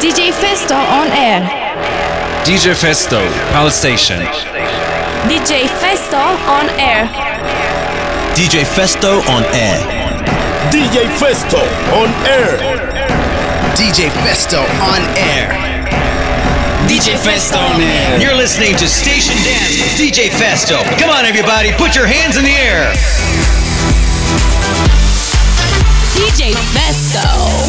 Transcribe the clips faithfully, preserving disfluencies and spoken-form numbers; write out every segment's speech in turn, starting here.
D J Festo on air. D J Festo, Palace Station. D J Festo on air. D J Festo on air. D J Festo on air. D J Festo on air. D J Festo on air. You're listening to Station Dance with D J Festo. Come on, everybody, put your hands in the air. D J Festo.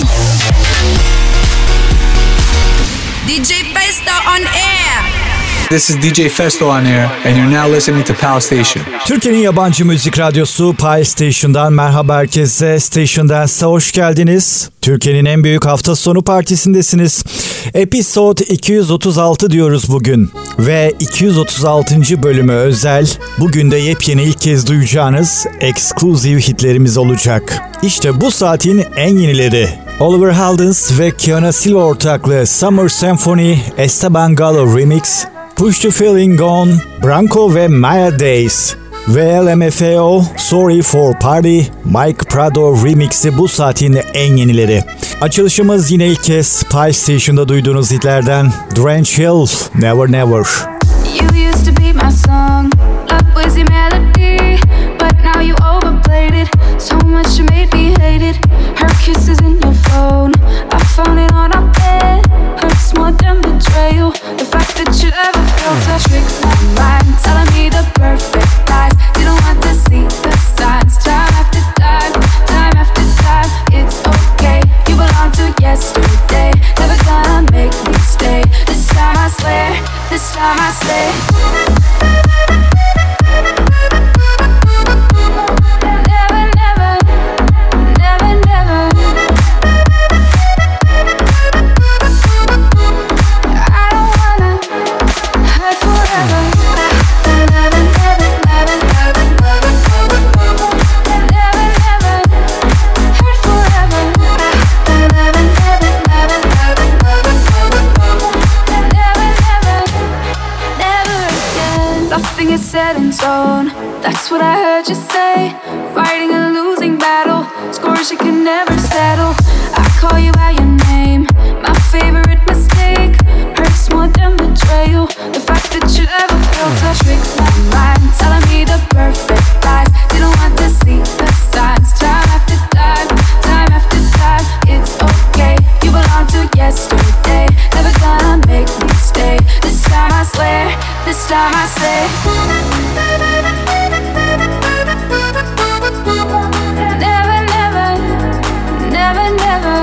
D J Festo on air. This is D J Festo on air and you're now listening to Pal Station. Türkiye'nin yabancı müzik radyosu Pal Station'dan merhaba herkese. Station Dance'a hoş geldiniz. Türkiye'nin en büyük hafta sonu partisindesiniz. Episode iki yüz otuz altı diyoruz bugün. Ve iki yüz otuz altıncı bölümü özel. Bugün de yepyeni ilk kez duyacağınız exclusive hitlerimiz olacak. İşte bu saatin en yenileri. Oliver Heldens ve Kiana Silva ortaklığı Summer Symphony, Esteban Gallo Remix, Push the Feeling On, Branco ve Maya Days ve L M F O, Sorry for Party, Mike Prado Remix'i bu saatin en yenileri. Açılışımız yine ilk kez Pal Station'da duyduğunuz hitlerden Drench Hill, Never Never. You used to be my song, love was your melody, but now you overplayed it, so much you made me hate it. Her kisses in your phone, I found it on our bed, hurts more than betrayal. The fact that you ever felt a trick my mind, telling me the perfect lies. You don't want to see the signs. Time after time, time after time. It's okay, you belong to yesterday. Never gonna make me stay. This time I swear, this time I swear. Nothing is set in stone, that's what I heard you say. Fighting a losing battle, scores you can never settle. I call you by your name, my favorite mistake. Hurts more than betrayal, the fact that you ever felt a trick my mind, telling me the perfect lies. Didn't want to see the signs. Time after time, time after time. It's okay, you belong to yesterday. Never gonna make me stay. This time I swear, this time I say. Never, never, never, never.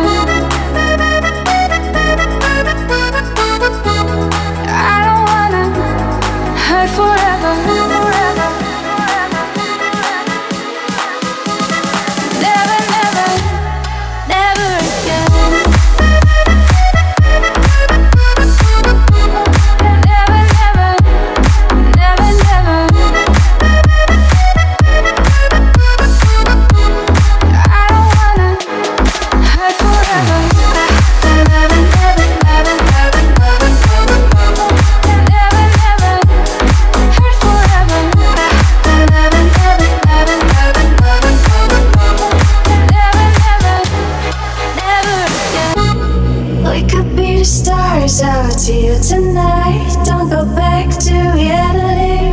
I don't wanna hurt forever, forever. Never, never, never again. Never, never, never, never. I don't wanna hurt forever. Never, never, never, never, never, never, never. Never, never hurt forever. Never, never, never, never, never, never, never. Never, never, never again. We could be the stars out here tonight. Don't go back to reality.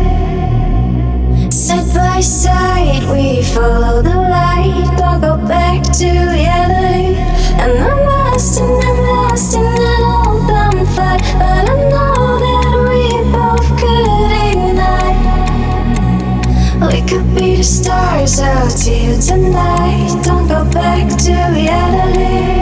Side by side, we follow the light. Don't go back to reality. And I'm lost and I'm lost in an open fight, but I know that we both could ignite. We could be the stars out here tonight. Don't go back to reality.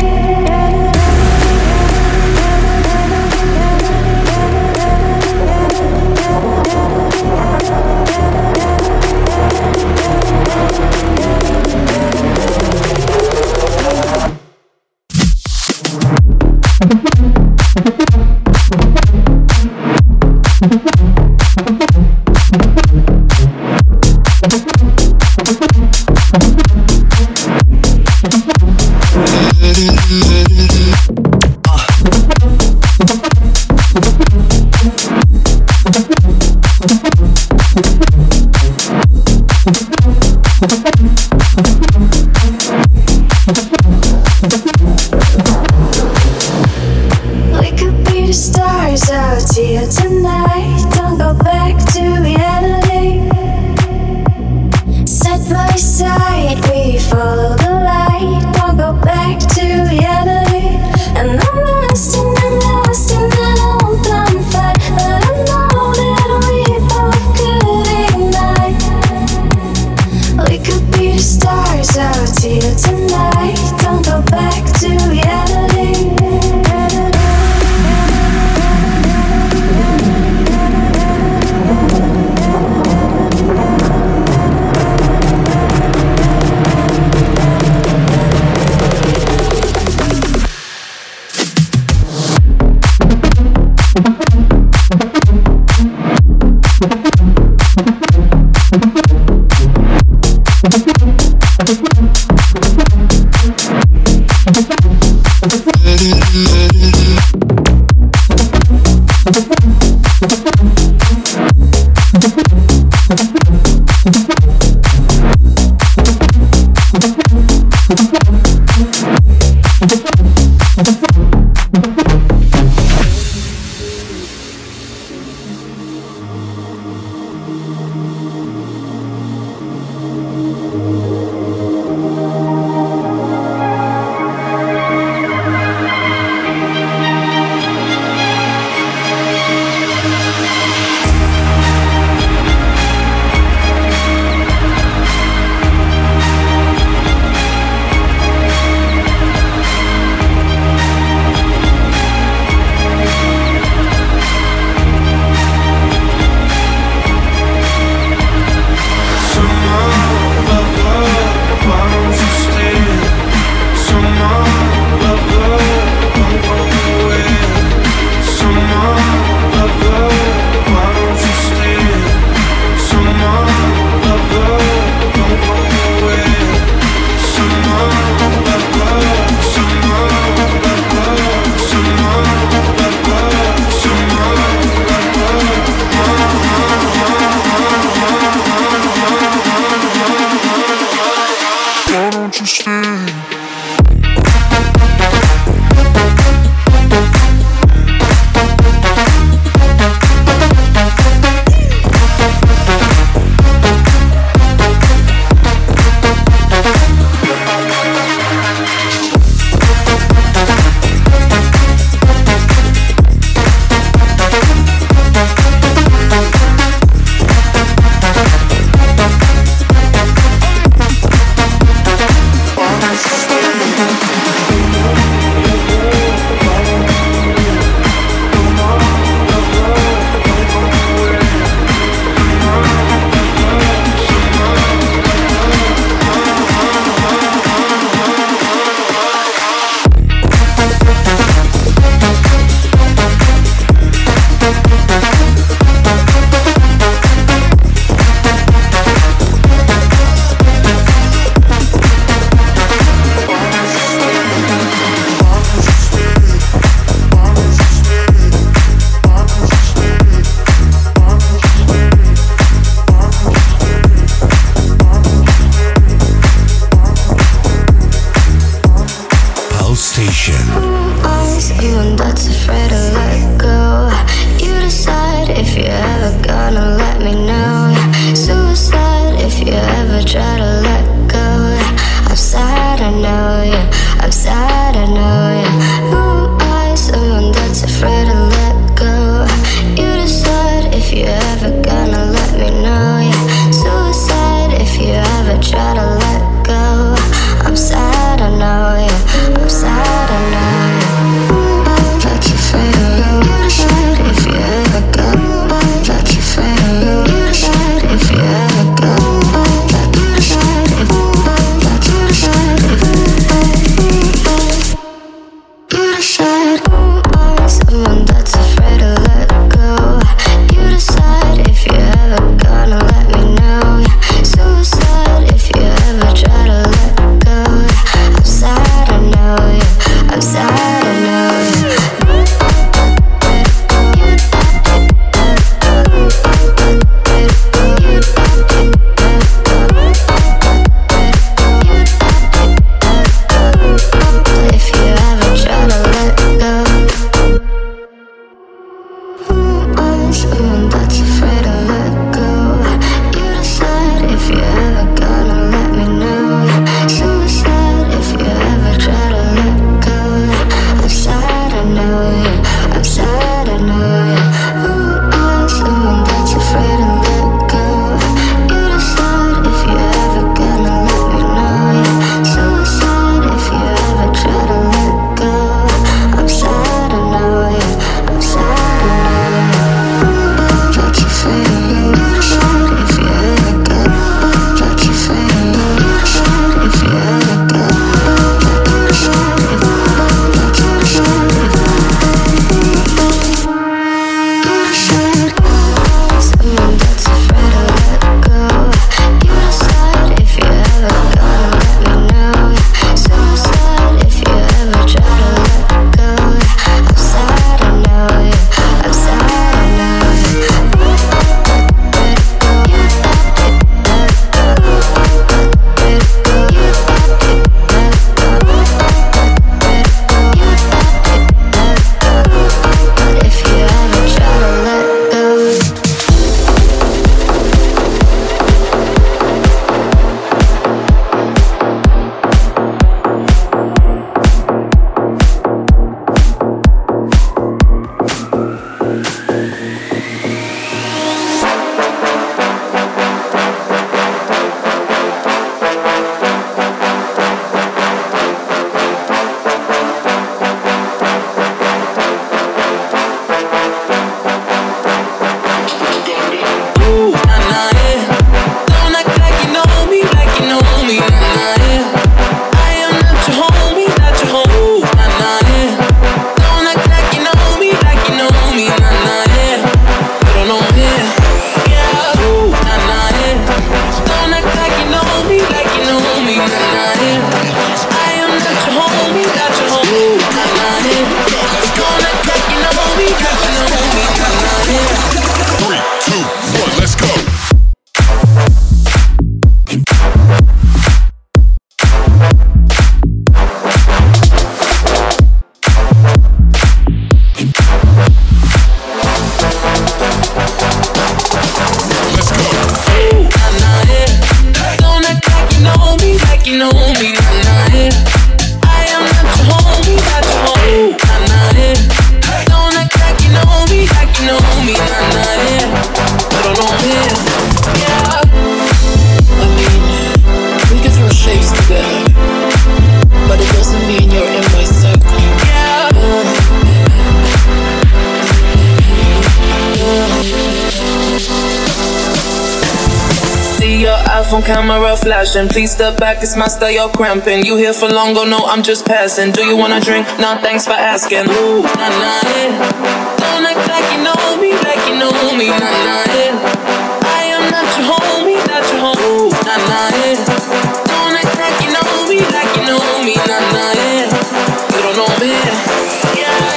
my phone camera flashing. Please step back, it's my style, you're cramping. You here for long, go no, I'm just passing. Do you wanna drink? Nah, thanks for asking. Ooh, nah, nah, yeah. Don't act like you know me, like you know me, nah, nah, yeah. I am not your homie, not your homie, ooh, nah, nah, yeah. Don't act like you know me, like you know me, nah, nah, yeah. You don't know me, yeah.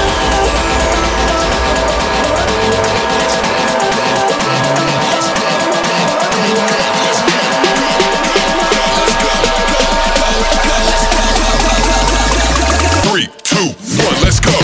Three, two, one, let's go.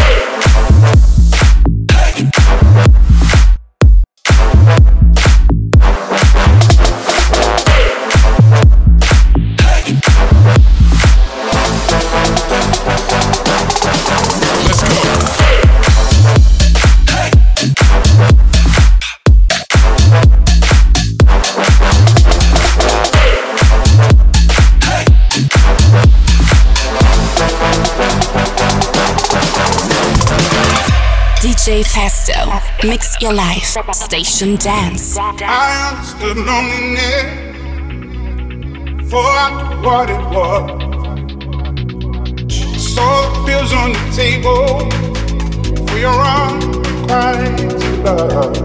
D J Festo, mix your life, station dance. I understood loneliness for what it was. Saw the bills on the table for your unrequited love.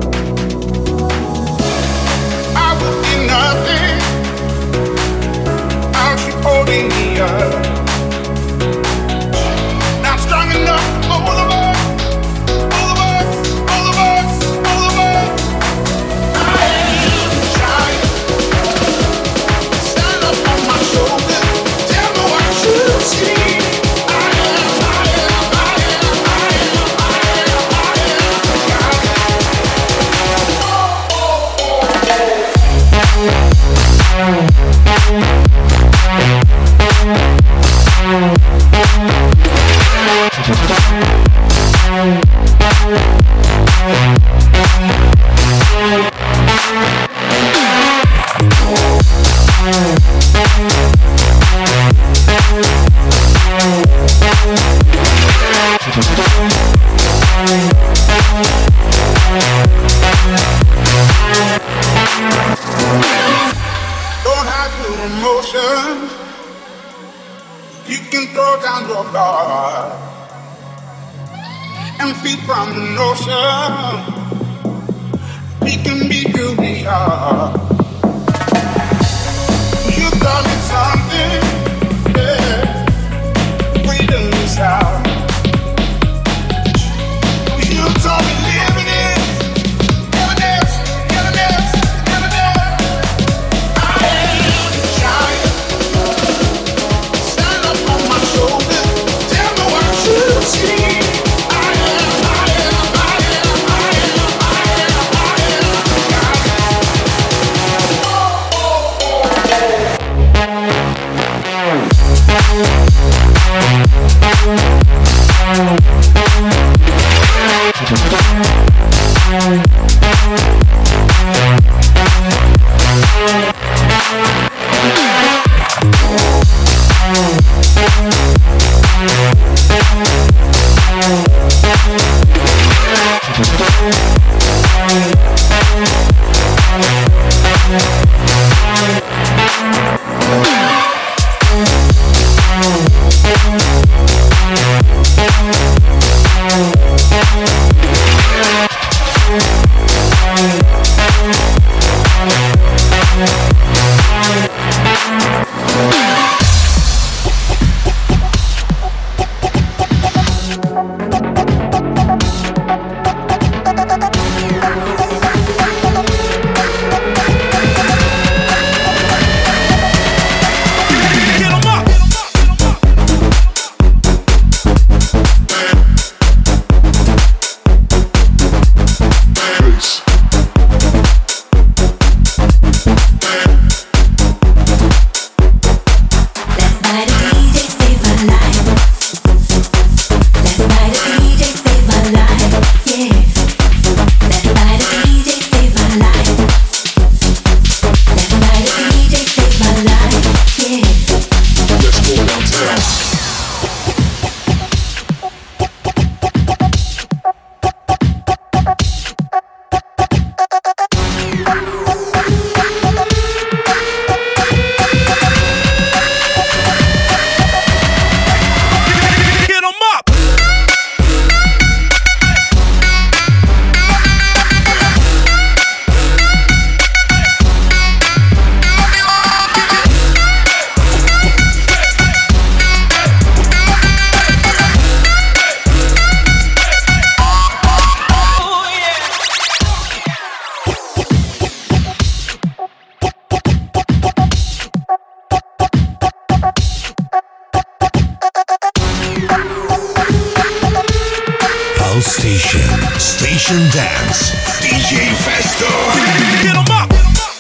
I would be nothing without you holding me up. Not strong enough for all of us. Don't have to emotion. You can throw down your guard and feed from the notion. We can be who we are. You taught me something, yeah. Freedom is out. You taught me living it. Never dance, never dance, never dance. I am a giant. Stand up on my shoulders. Tell me what you see. I am, I am, I am, I am, I am, I am a giant. Oh, oh, oh. Station. Station Dance. D J Festo. Get 'em up.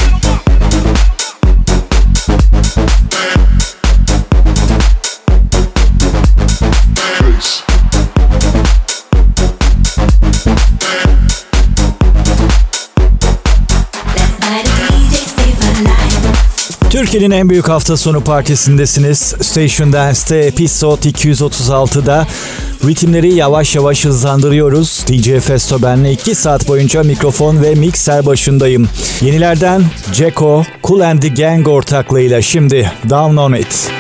Türkiye'nin en büyük hafta sonu partisindesiniz. Station Dance'te Episode iki yüz otuz altıda ritimleri yavaş yavaş hızlandırıyoruz. D J Festo benle iki saat boyunca mikrofon ve mikser başındayım. Yenilerden Ceko, Kool and the Gang ortaklığıyla şimdi Down on It.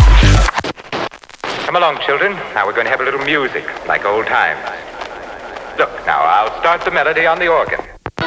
Come along, children. Now we're going to have a little music, like old times. Look, now I'll start the melody on the organ.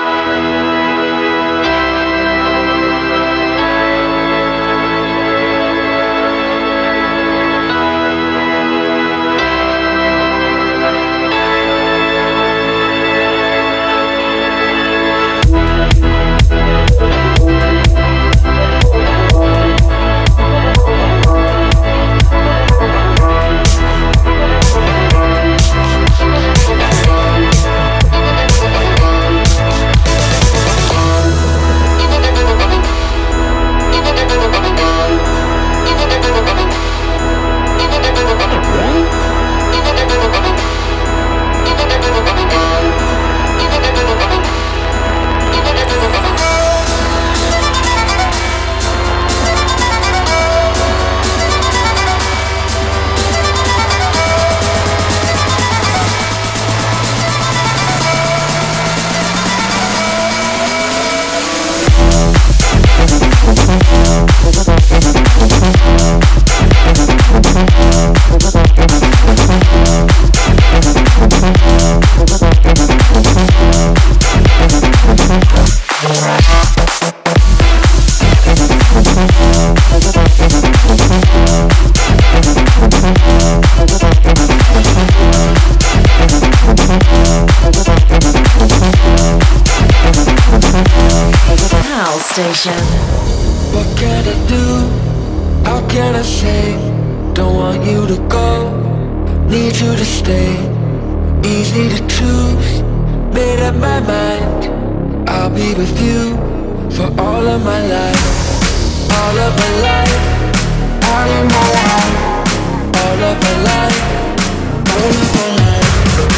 Station. What can I do? How can I say? Don't want you to go, need you to stay. Easy to choose, made up my mind. I'll be with you for all of my life. All of my life, all of my life. All of my life, all of my life.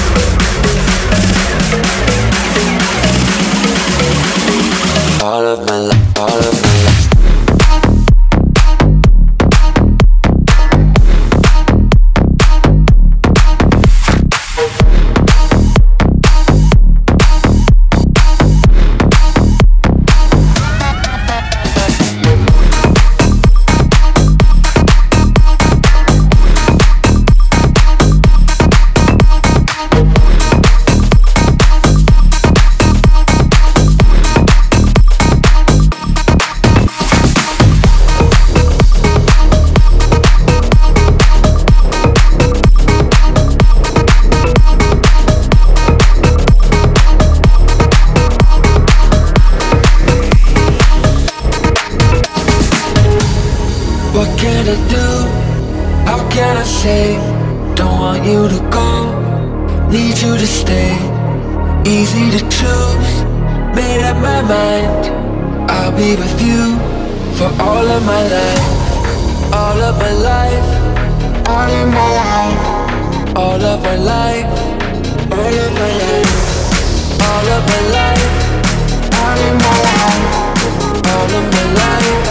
All of my life, all of my life. Don't want you to go, need you to stay. Easy to choose, made up my mind. I'll be with you for all of my life. All of my life, all of my life. All of my life, all of my life. All of my life, all of my life. All of my life.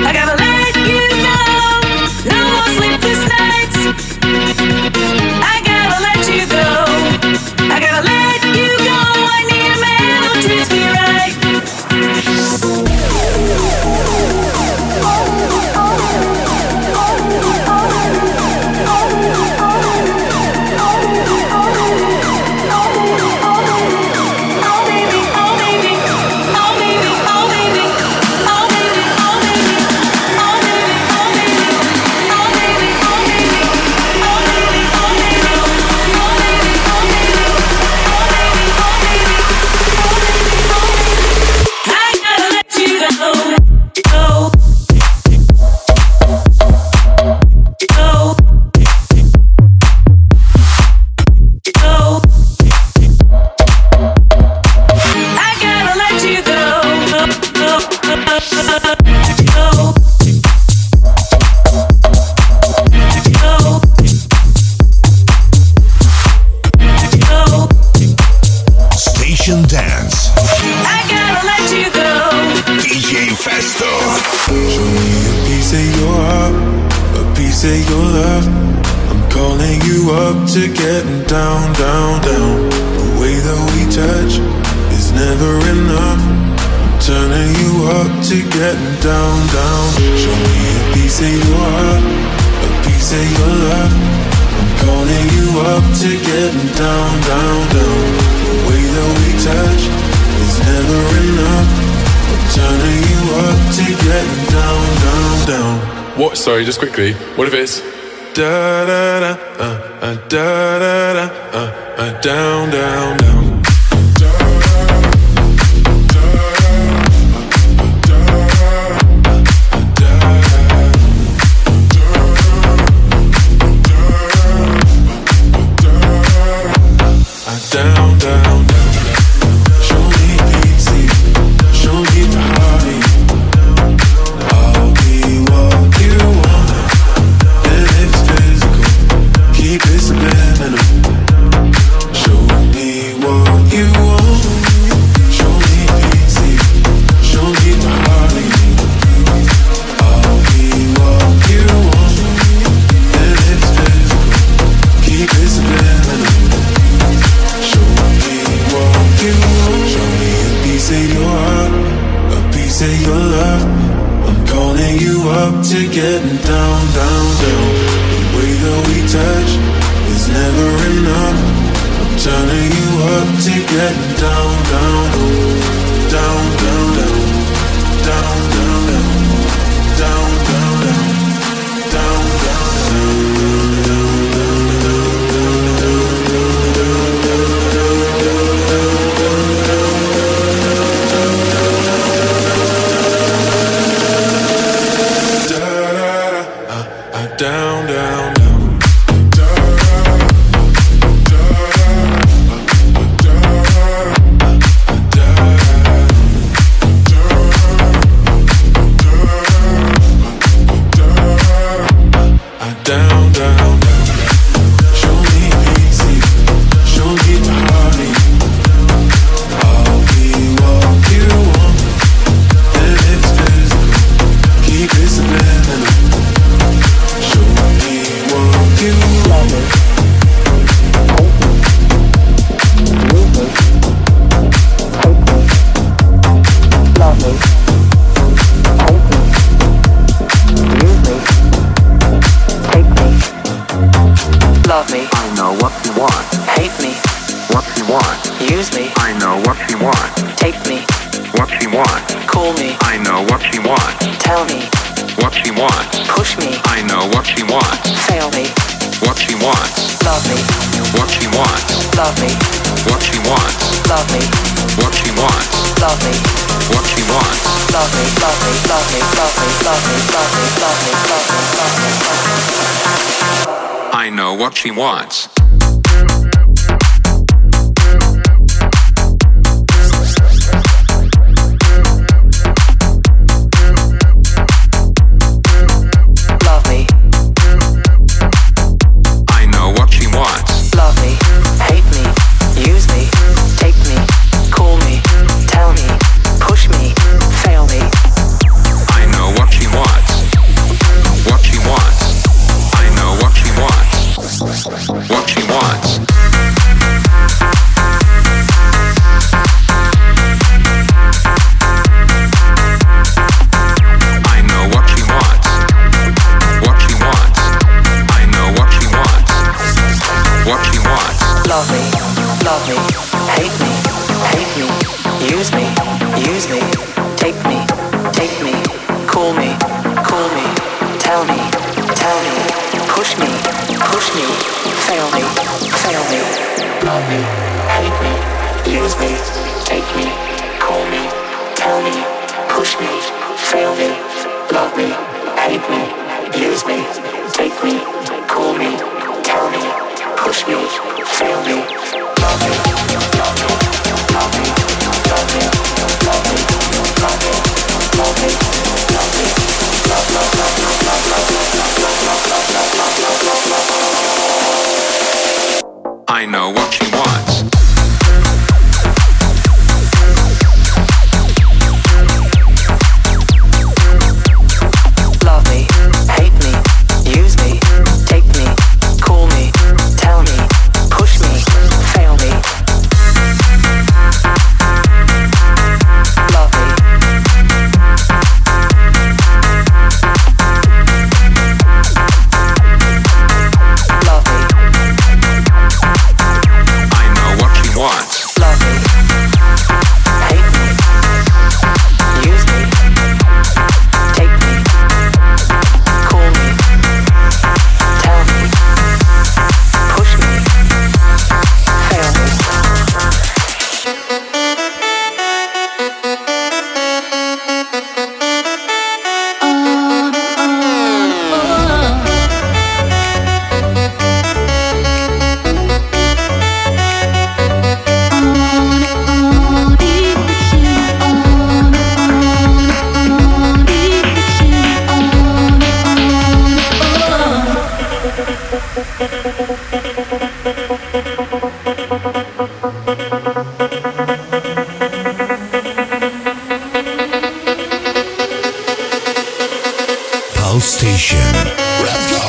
I gotta let you go. No more sleepless nights. I gotta let you go. I gotta let you go. I need a man who treats me right. Station Dance. I gotta let you go. D J Festo. Show me a piece of your heart, a piece of your love. I'm calling you up to getting down, down, down. The way that we touch is never enough. I'm turning you up to getting down, down. Show me a piece of your heart, a piece of your love. I'm calling you up to getting down, down, down. The way that we touch is never enough. I'm turning you up to getting down, down, down. What? Sorry, just quickly. What if it's da da da uh, uh, da da da uh, uh, down, down, down. Down, down, down. Show me easy, show me the heartache. I'll be what you want, and if it's physical, keep it subliminal. Show me what you want, show me easy, show me the heartache. I'll be what you want, and if it's physical, keep it subliminal. Show me what you want. Show me a piece of your heart, a piece of your love. I'm calling you up to getting down, down, down. The way that we touch is never enough. I'm turning you up to getting down, down, down, down, down, down, down, down, down, down, down, down, down, down. Down, down, down. Show me easy, show me the heartache. I'll be what you want, and if it's physical, keep it subliminal. Show me what you want. Love me. Love me. I know what you want. Hate me. What you want. Use me. I know what you want. Take me. What you want. Call me. I know what you want. Tell me. What you want. Push me. I know what you want. Fail me. What you want. Love me. What you want. Love me. What you want. Love me. What you want. Love me. What you want. Love me. Love me. Love me. Love me. Love me. Love me. Love me. Love me. Love me. Love me. I know what she wants. Love me. I know what she wants. Love me. Hate me. Use me. Take me. Call me. Tell me. Push me. Fail me. I know what she wants. me, hate me, hate me, use me, use me, take me, take me, cool me, cool me, tell me, tell me, push me, push me, fail me, fail me, love me, hate me, use me, take me, cool me, tell me, push me, fail me, love me, hate me, use me, take me, cool me, tell me, push me, fail me, love me, love me, love me, love me, love me, love me, love me, love me, love, love, love, love, love, love, love, love, love, love, love, love, love, love. I know what she wants. Love me, hate me, use me, take me, cool me, tell me, push me, fail me. Love me. Love me. I know what she wants. Love me. Hate me. Use me. Take me. Cool me. Tell me. Push me. Fail me. Pulse Station. Let's go.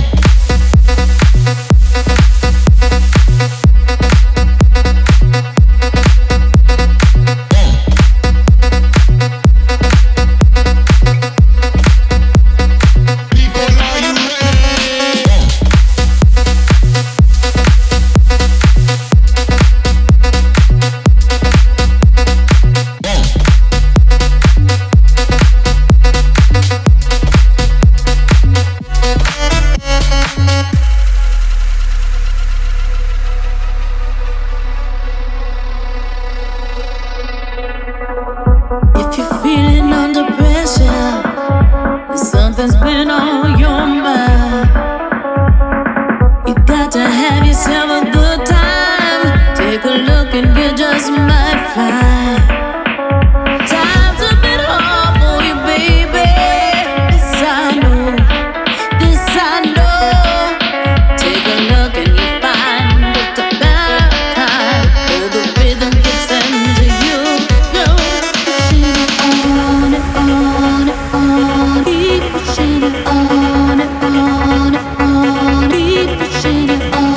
If you're feeling under pressure, if something's been on your mind, you got to have yourself a good time. Take a look and you just might find time's a bit hard for you, baby. This I know, this I know. Take a look and you find just a better time, where the rhythm gets into you. On and on and on, keep pushing it on and on and on, keep pushing it on.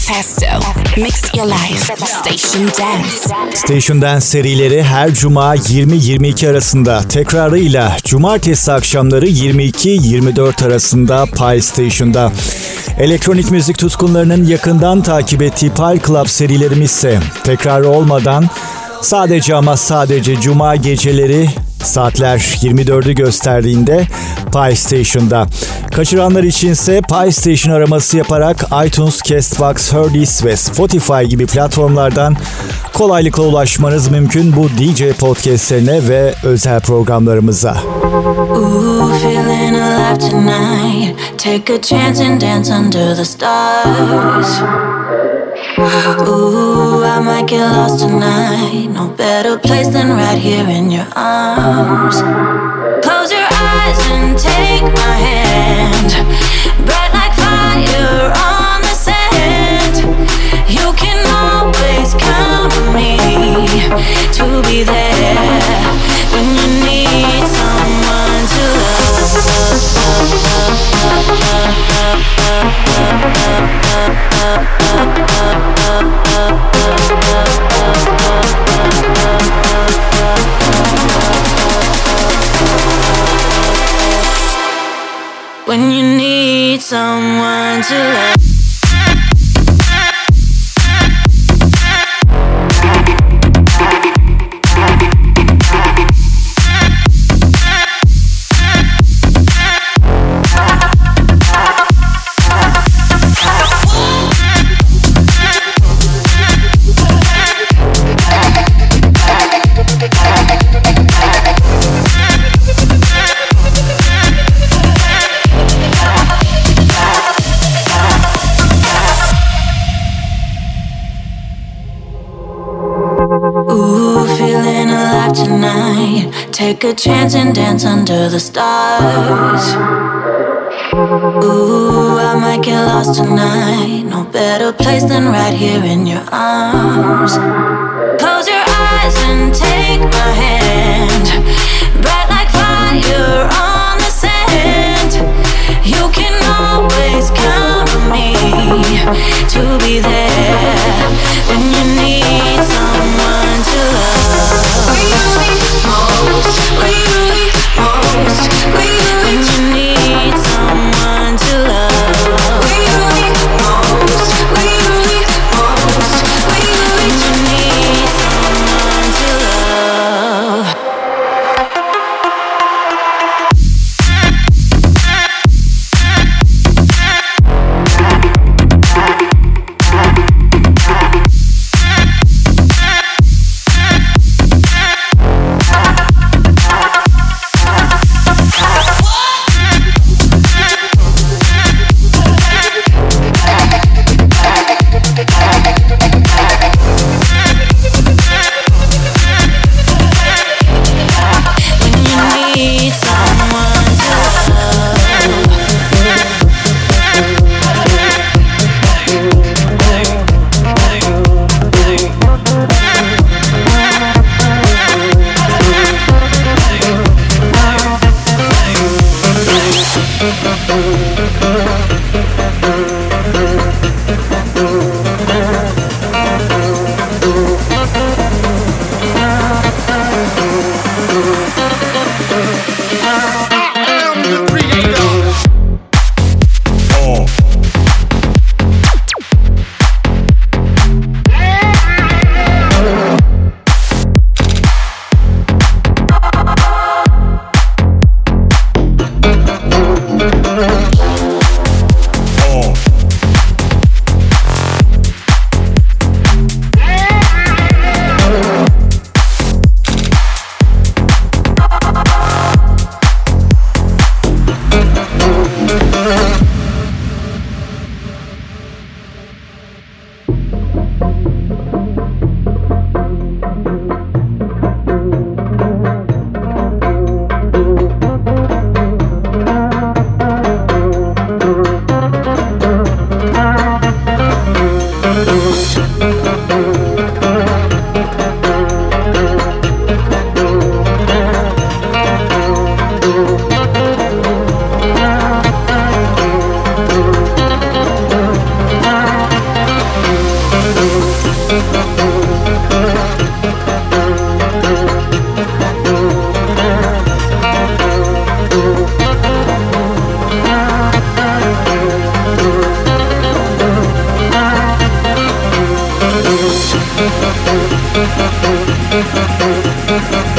Festo. Mix your life. Station Dance. Station Dance serileri her cuma yirmi yirmi iki arasında, tekrarıyla cumartesi akşamları yirmi iki yirmi dört arasında Pi Station'da. Elektronik müzik tutkunlarının yakından takip ettiği Pi Club serilerimiz ise tekrar olmadan sadece ama sadece cuma geceleri saatler yirmi dördü gösterdiğinde Pi Station'da. Kaçıranlar içinse Pi Station araması yaparak iTunes, Castbox, Heardis ve Spotify gibi platformlardan kolaylıkla ulaşmanız mümkün bu D J podcastlerine ve özel programlarımıza. Ooh, feeling alive tonight. Take a chance and dance under the stars. Ooh, I might get lost tonight. No better place than right here in your arms. Close your eyes and take my hand. Bright like fire on the sand. You can always count on me to be there when you need someone to love. When you need someone to love. Take a chance and dance under the stars. Ooh, I might get lost tonight. No better place than right here in your arms. Close your eyes and take my hand. Bright like fire on the sand. You can always count on me to be there when you need someone to love. Most, when you need most, when you need someone to love. When you need most, when you need most, when you need someone to love.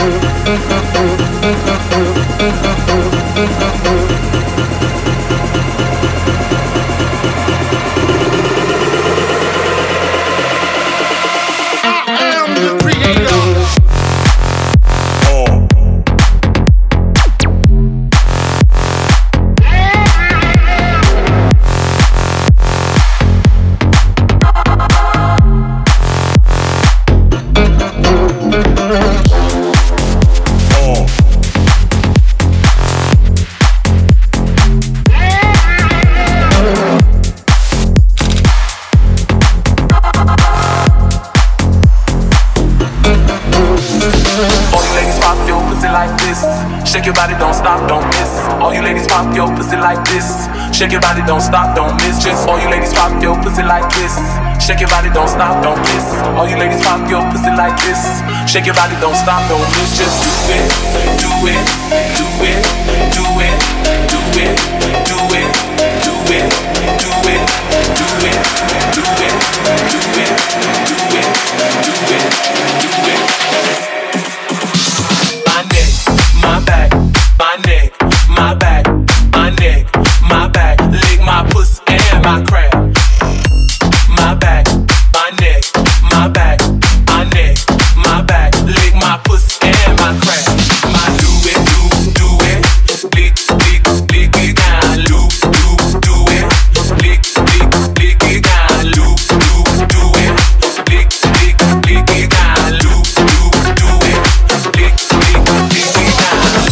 Shake your body, don't stop, don't miss. All you ladies pop your pussy like this. Shake your body, don't stop, don't miss. Just all you ladies pop your pussy like this. Shake your body, don't stop, don't miss. All you ladies pop your pussy like this. Shake your body, don't stop, don't miss. Just do it, do it, do it, do it, do it, do it, do it, do it, do it, do it, do it, do it, do it, do it. My neck, my back, my neck, my back, my neck, my back. Lick my pussy and my crack. My back, my neck, my back, my neck, my back. Lick my pussy and my crack. My do it, do, do it. Lick, lick, lick it down. Loop, loop, do it. Lick, lick, lick it down. Loop, loop, do it. Lick, lick, lick it down. Loop, loop, do it. Lick, lick, lick it down.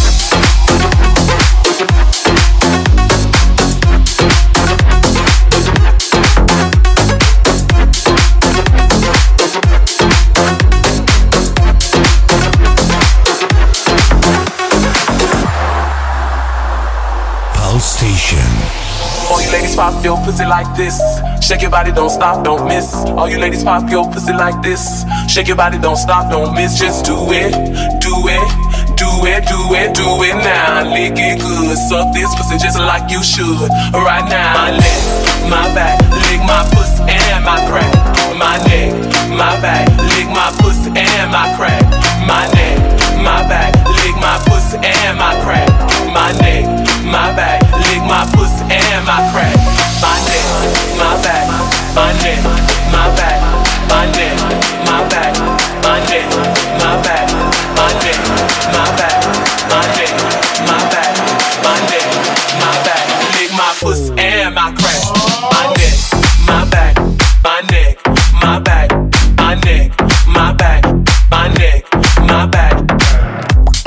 Pulse Station. All you ladies pop your pussy like this. Shake your body, don't stop, don't miss. All you ladies pop your pussy like this. Shake your body, don't stop, don't miss. Just do it, do it, do it, do it, do it now. Lick it good, suck this pussy just like you should. Right now, my neck, my back, lick my pussy and my crack. My neck, my back, lick my pussy and my crack. My neck, my back, lick my pussy and my crack. My neck, my back, lick my pussy and my crack. My neck, my back, my neck, my back, my neck, my back, my neck, my back, my neck, my back, my neck, my back, my neck, my back. Lick my pussy and my crack. My neck, my back, my neck, my back, my neck, my back, my neck, my back.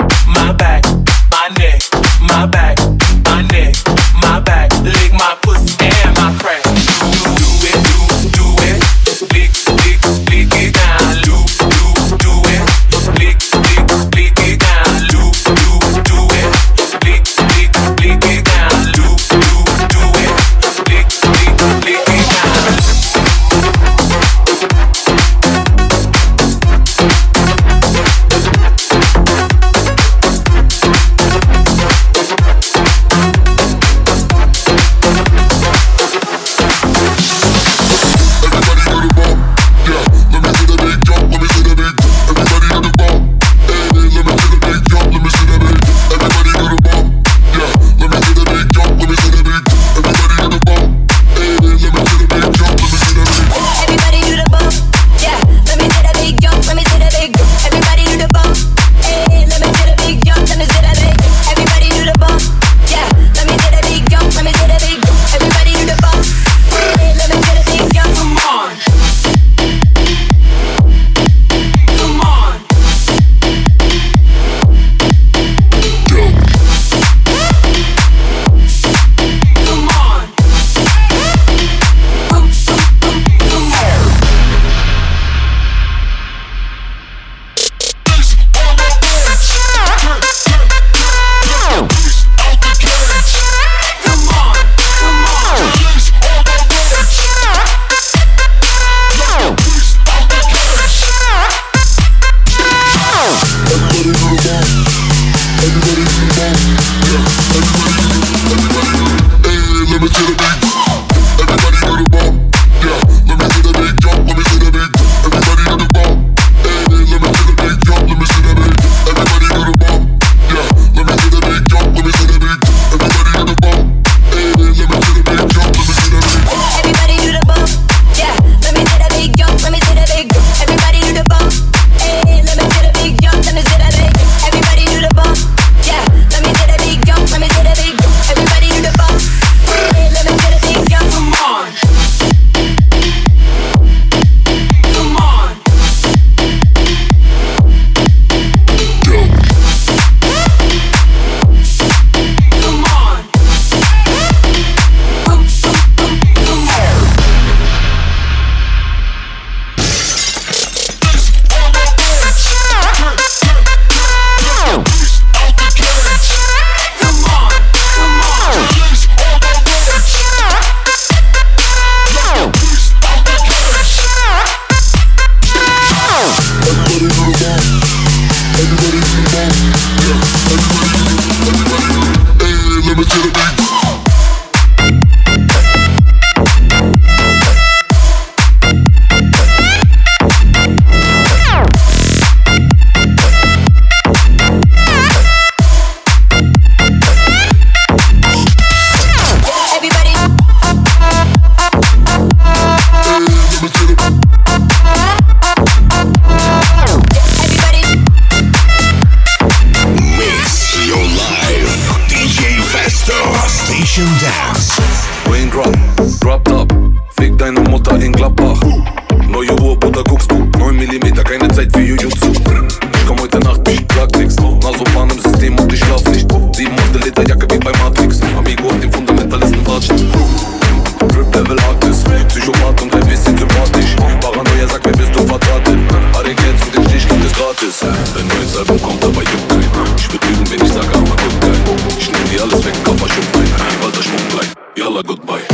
Station Dance. Raindrop, drop top, fick deine Mutter in Gladbach. Neue Uhr, Bruder, guckst du, neun Millimeter, keine Zeit für Jujutsu. Ich komm heute Nacht, sag nix, Nasopan im System und ich schlaf nicht. Sieben Monate Lederjacke wie bei Matrix, Amigo auf den Fundamentalisten watschen. Drip Level Artist, Psychopath und ein bisschen sympathisch. Paranoia sagt mir, bist du verdrahtet. Alle Geld für den Stich gibt es gratis. Ein neues Album kommt, aber juckt keinen. Ich würd lügen, wenn ich sage, aber gut geil. Ich nehm dir alles weg, Koffer schimpf rein. Die Walter Schmuck bleibt, yalla goodbye.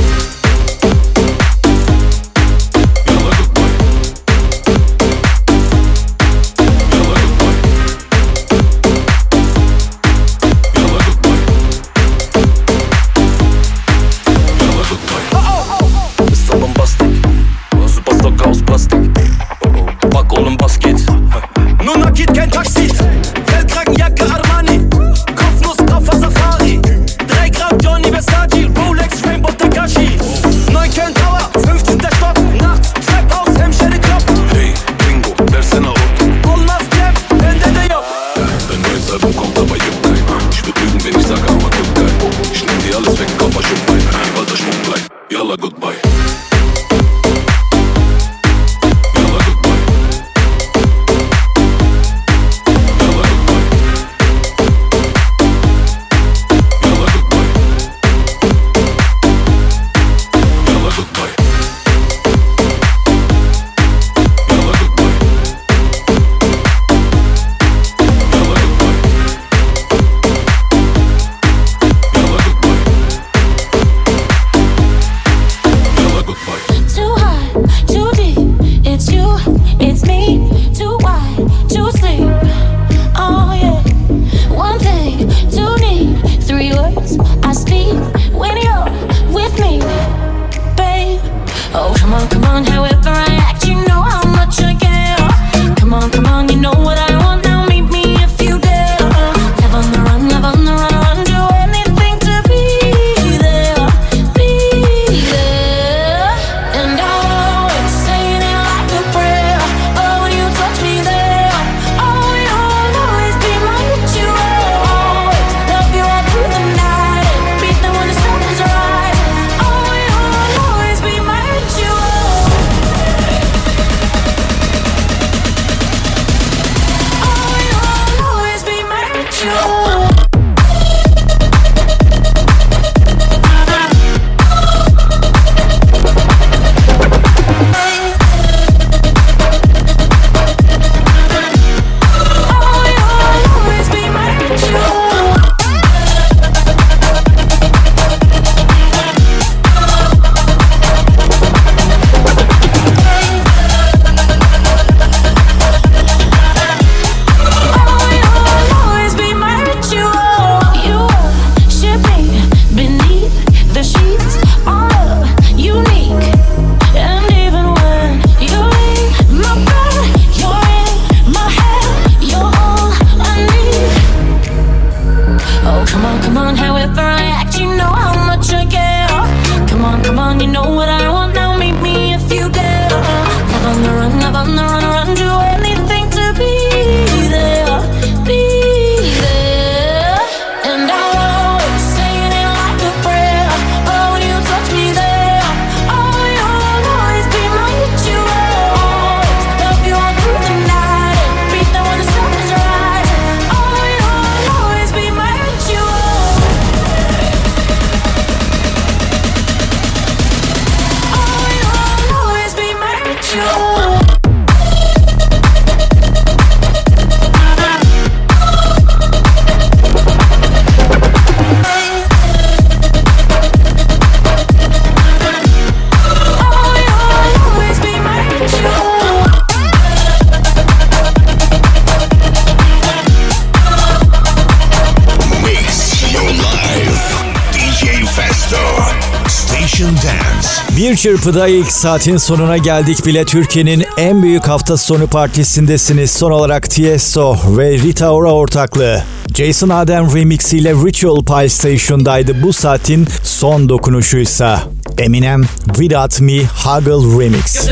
Bir çırpıda ilk saatin sonuna geldik bile. Türkiye'nin en büyük hafta sonu partisindesiniz. Son olarak Tiesto ve Rita Ora ortaklığı Jason Adem remix ile Ritual Pile Station'daydı. Bu saatin son dokunuşuysa Eminem Without Me Huggle Remix.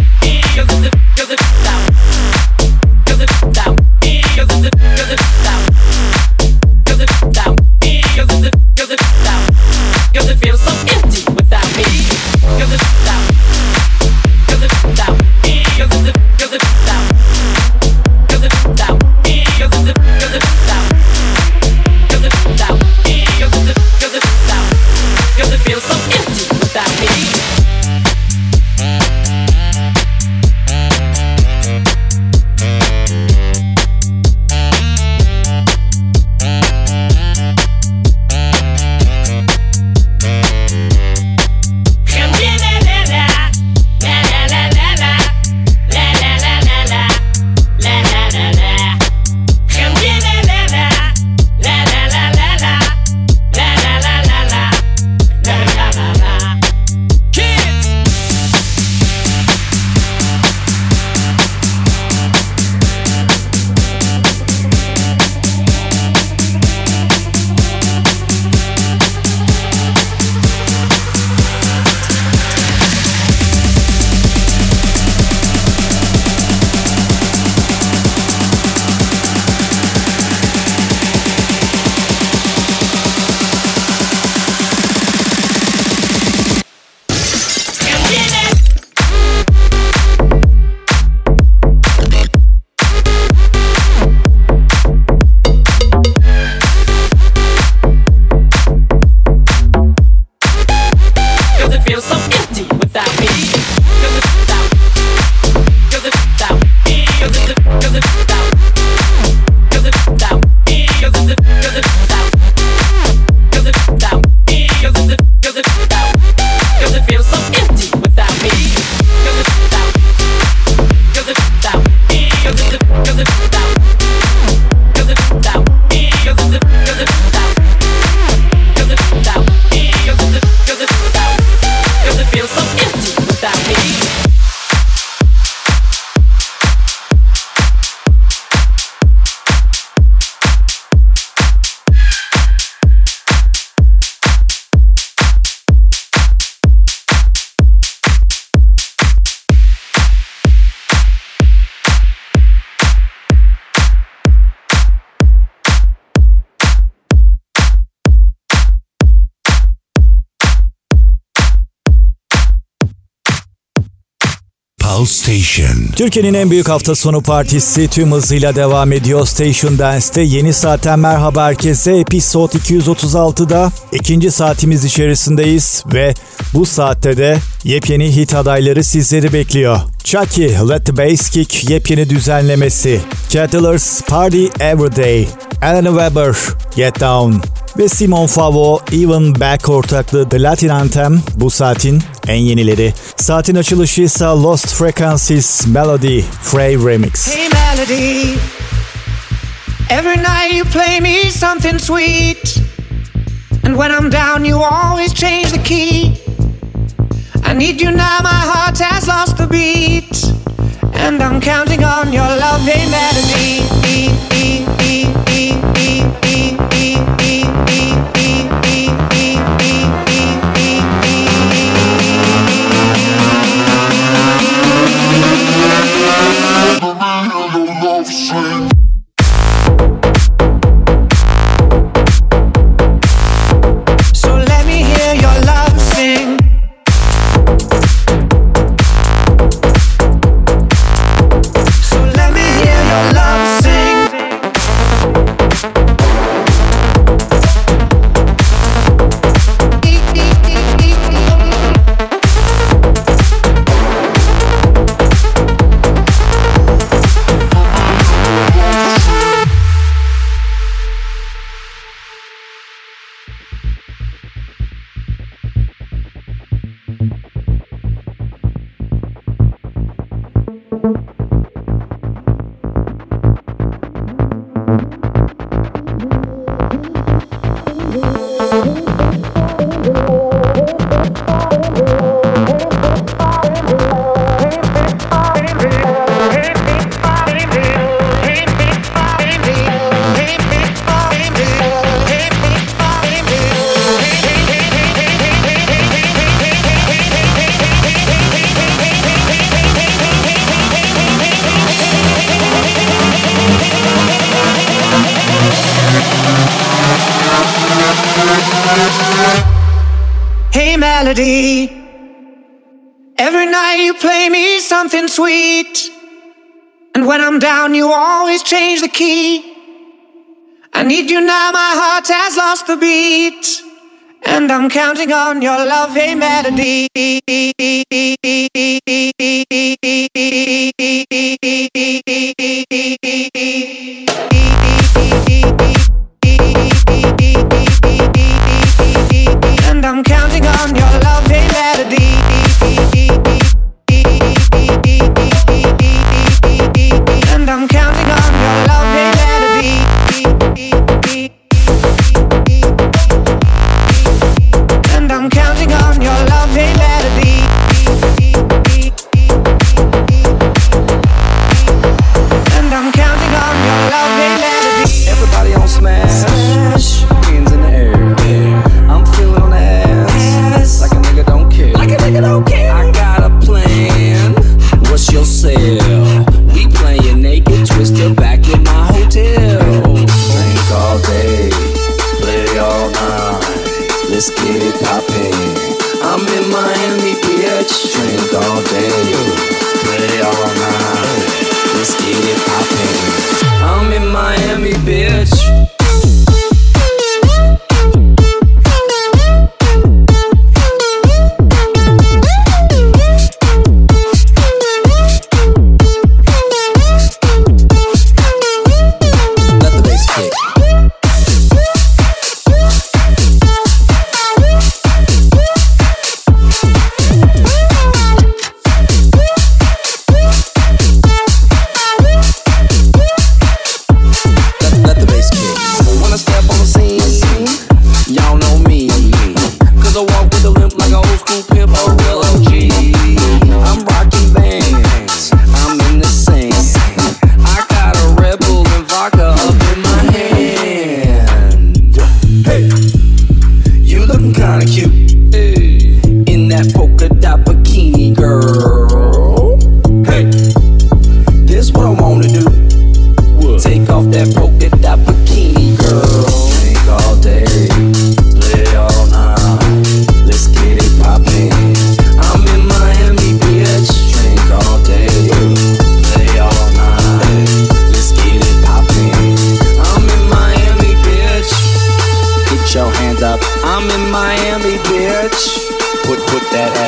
Cause Pulse Station. Türkiye'nin en büyük hafta sonu partisi tüm hızıyla devam ediyor. Station Dance'te yeni saatten merhaba herkese. Episode iki yüz otuz altıda ikinci saatimiz içerisindeyiz ve bu saatte de yepyeni hit adayları sizleri bekliyor. Chucky, Let the Bass Kick yepyeni düzenlemesi. Kettlers, Party Everyday. Alan Weber, Get Down. Ve Simon Favo, Even Back ortaklığı The Latin Anthem bu saatin en yenileri. Saatin açılışı ise Lost Frequencies, Melody, Frey Remix. Hey Melody, every night you play me something sweet, and when I'm down you always change the key. I need you now, my heart has lost the beat, and I'm counting on your love, hey Melody. So let me hear your love sing. So let me hear your love sing. Hey Melody, every night you play me something sweet, and when I'm down you always change the key. I need you now, my heart has lost the beat, and I'm counting on your love, hey Melody. And I'm counting on your love, hey Melody. And I'm counting on your love, hey Melody. And I'm counting on your love, hey Melody. And I'm counting on your love, hey Melody. Everybody on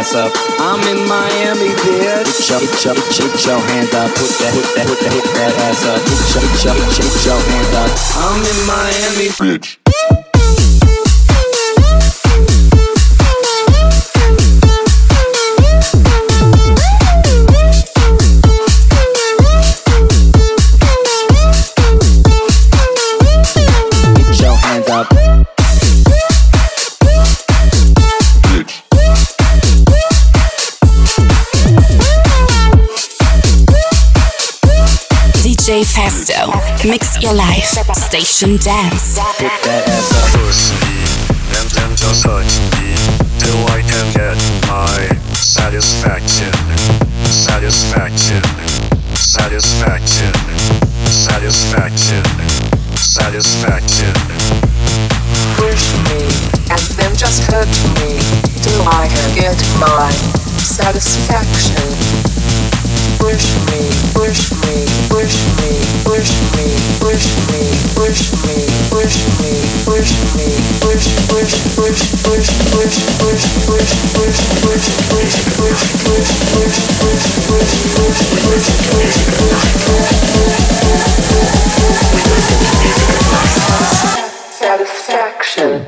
ass up. I'm in Miami, bitch. Put your, put your, put your hands up. Put that, put that, put that, put that ass up. Put your, put your, put your hands up. I'm in Miami, bitch. D J Festo, mix your life, station dance. Put that ass up. Push me and then just touch me till I can get my satisfaction, satisfaction, satisfaction, satisfaction, satisfaction. Push me and then just hurt me till I can get my satisfaction. Push me, push me, push me, push me, push me, push me, push me, push me, push, push, push, push, push, push, push, push, push, push, push, push, push, push, push, push, push, satisfaction.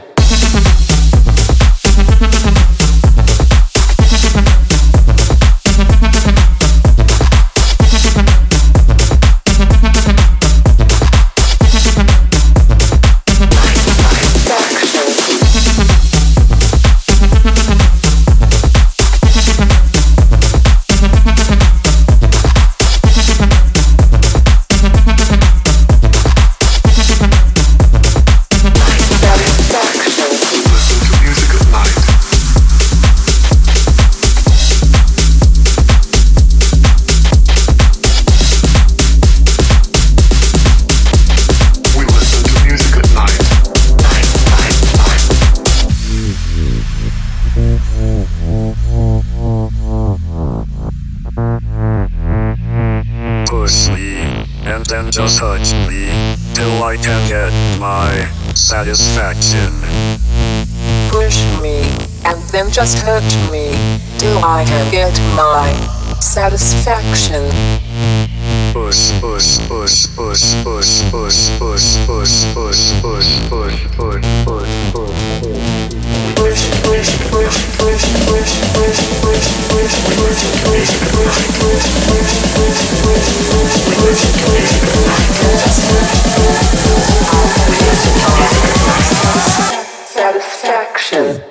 Just touch me till I can get my satisfaction. Push me and then just hurt me till I can get my satisfaction. Push, push, push, push, push, push, push, push, push, push, push, push, push, push. Push, push, push, push, push, push, push, push, push, push, push, push, push, push, push, push, push, satisfaction.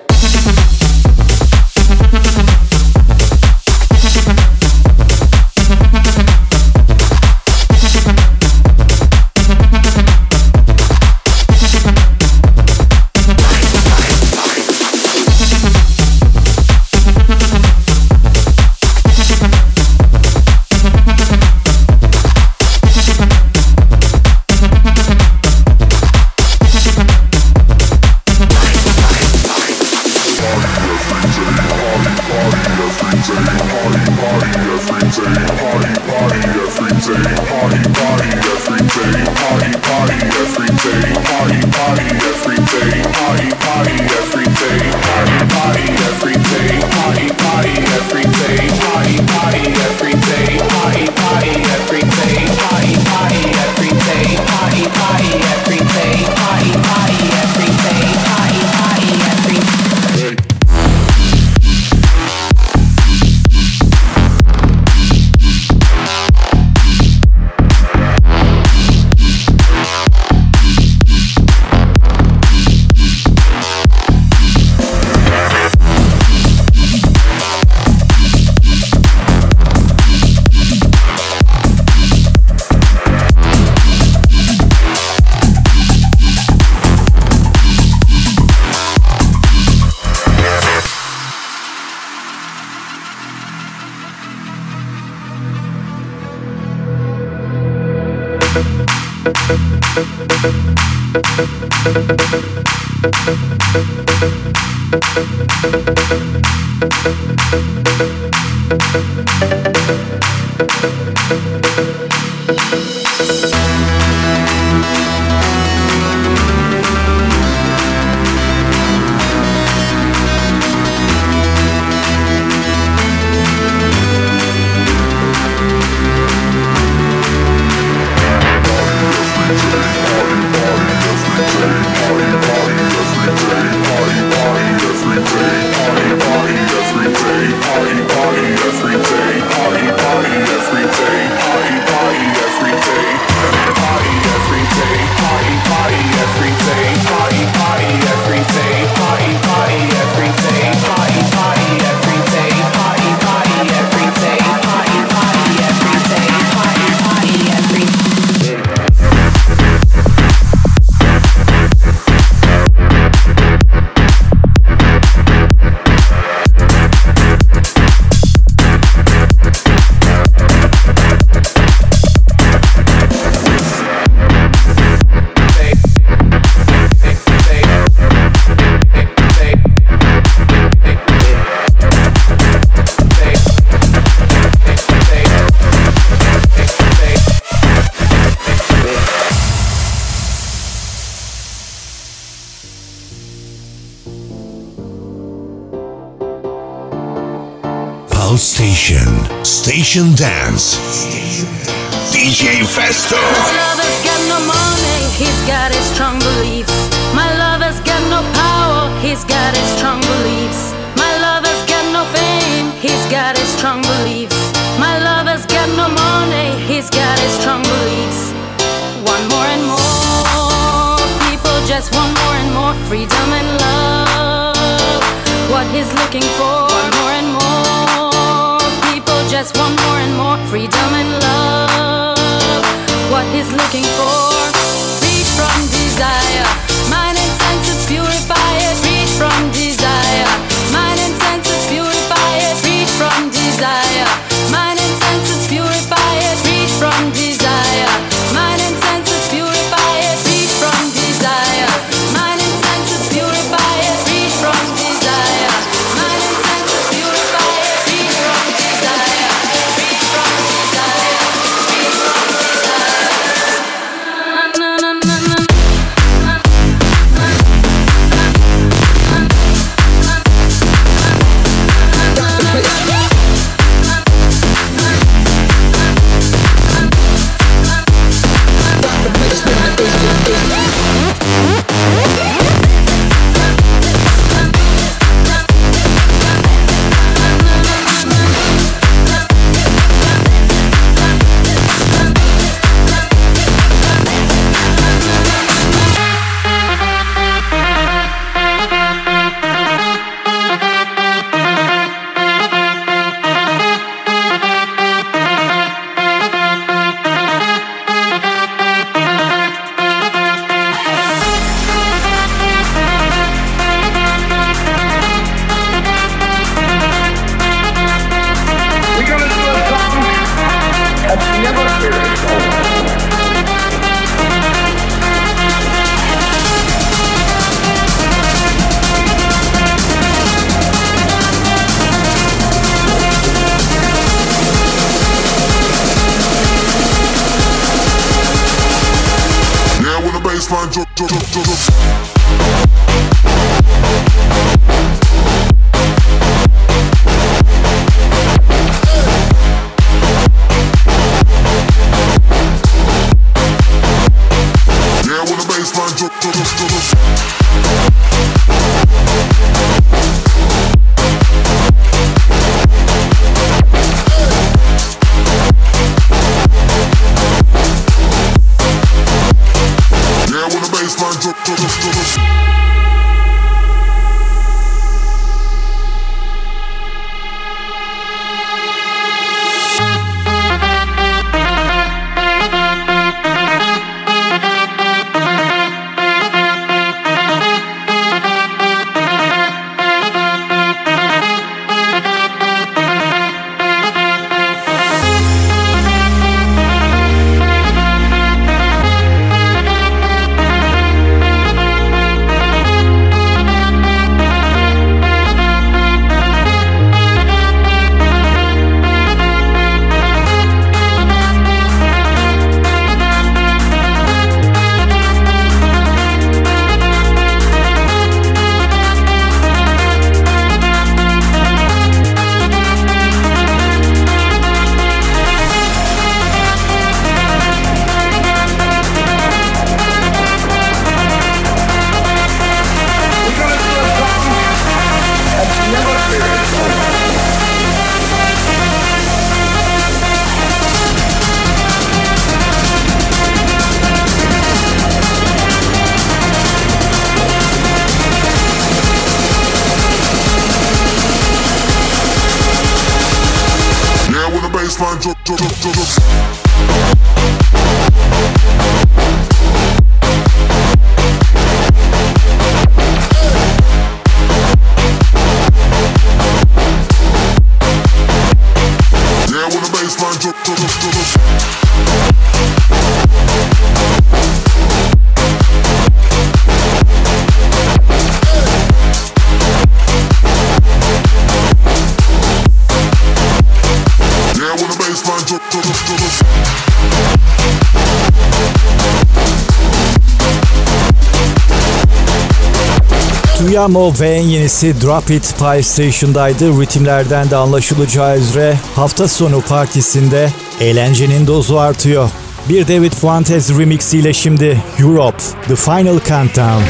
Station Dance. D J Festo. My lover's got no money, he's got his strong beliefs. My lover's got no power, he's got his strong beliefs. My lover's got no fame, he's got his strong beliefs. My lover's got no money, he's got his strong beliefs. One more and more, people just want more and more freedom and love. What he's looking for, one more and more, people just want more and more freedom and love. What he's looking for, free from desire, mind and senses purify it, free from desire, mind and senses purify it, free from desire, mind and senses purify it, free from desire, mind and senses purify it, free from desire, mind and senses purify it, free from desire, mind and senses purify it, free from desire, free from desire, free from desire. Na na na na. baseline drop, drop, drop, drop, drop. Yeah, when the baseline drop, drop, drop, drop, drop. Baseline drop, drop, drop, drop, drop. Yeah, when the baseline drop, drop, drop, drop, drop. Baseline drop, drop, drop, drop. Duyamo ve en yenisi Drop It Pie Station'daydı. Ritimlerden de anlaşılacağı üzere hafta sonu partisinde eğlencenin dozu artıyor. Bir David Fuentes remix ile şimdi Europe, The Final Countdown.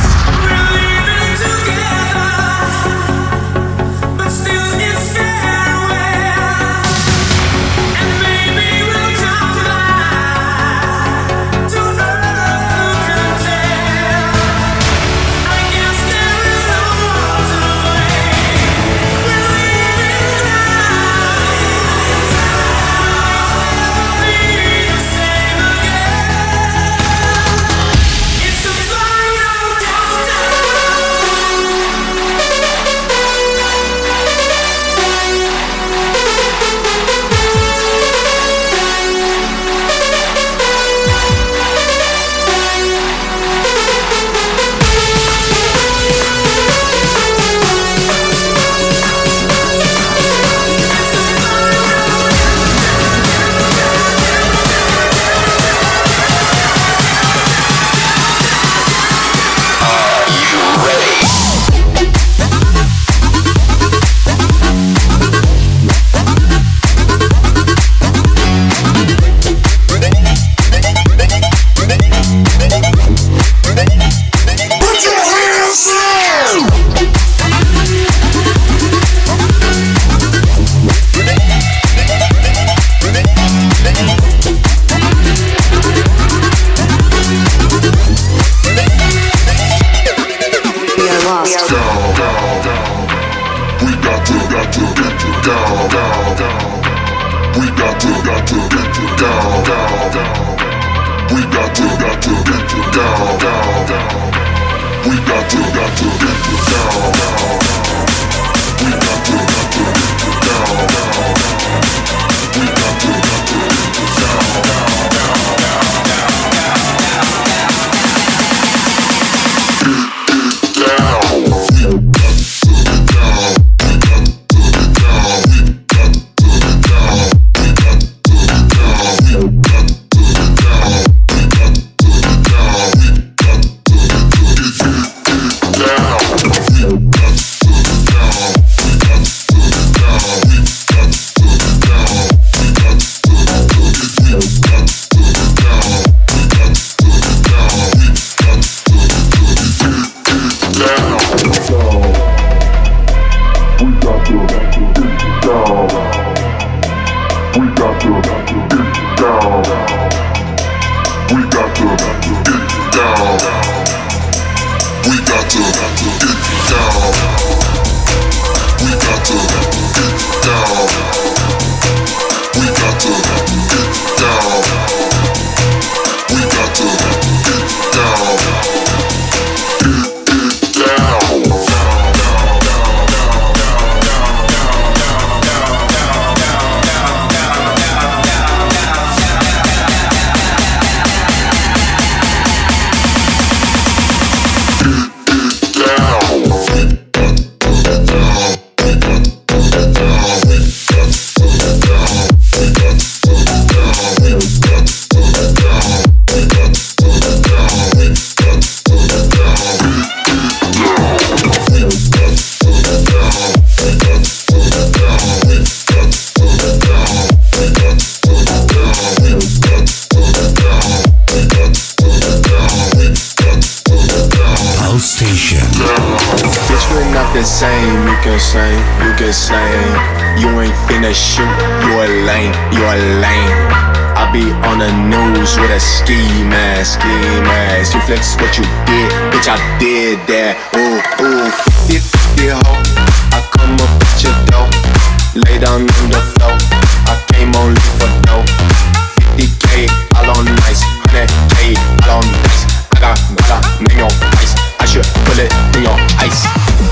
Flex what you did, bitch, I did that. Ooh, ooh, fifty, fifty, ho. I come up at your door, lay down on the floor. I came only for dough. fifty K, all on nice. one hundred K, all on dice. I got guala, name your ice. I should put it in your ice.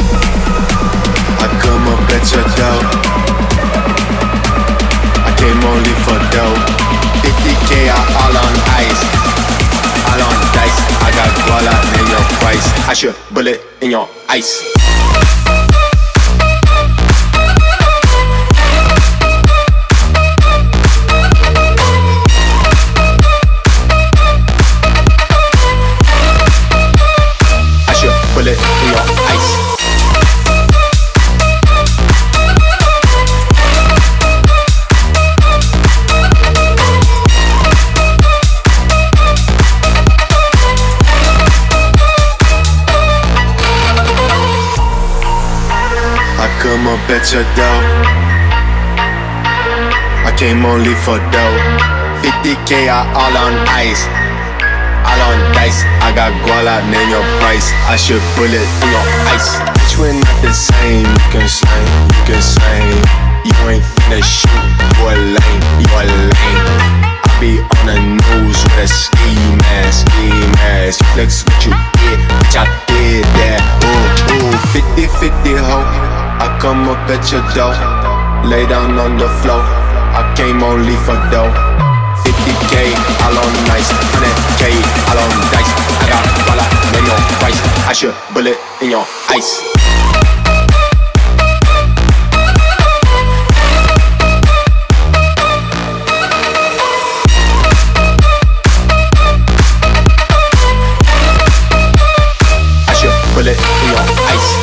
I come up at your door, I came only for dough. fifty K, all on ice. All on dice, I got guala in your price. I should bullet in your ice. I should bullet in your ice. picture though. I came only for dough. fifty K I all on ice, all on dice. I got guala, name your price. I should bullet in your ice. Bitch, we're not the same. You can slang, you can slang. You ain't finna shoot, you a lame, you a lame. I be on the news with a ski mask, ski mask. You flex what you did, bitch, I did that. Ooh, ooh, fifty fifty ho. I come up at your door, lay down on the floor. I came only for dough. fifty K, all on nice. one hundred K, all on dice. I got dollar, name your price. I should bullet in your ice. I should bullet in your ice.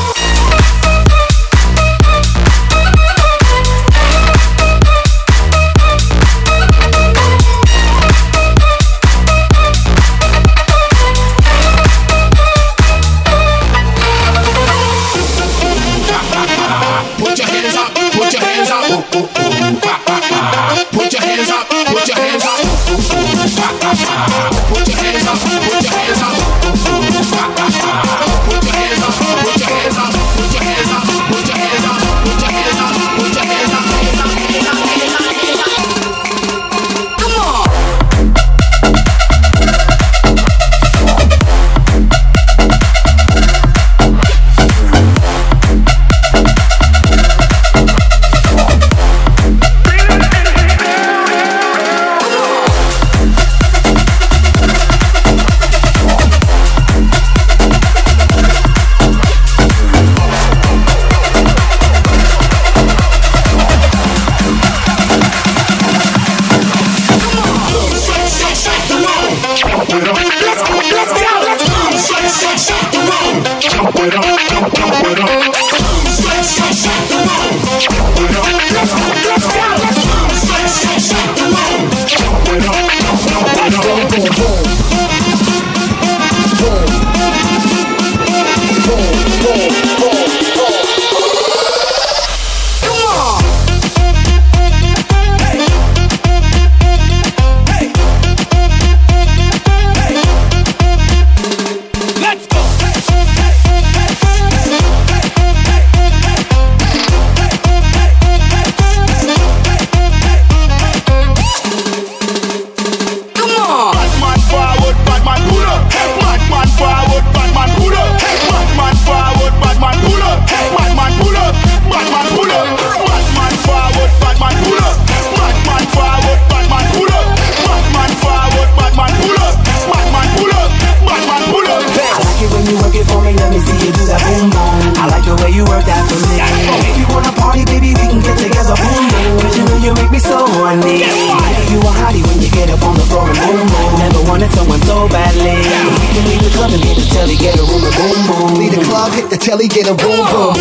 Telly get a boom boom.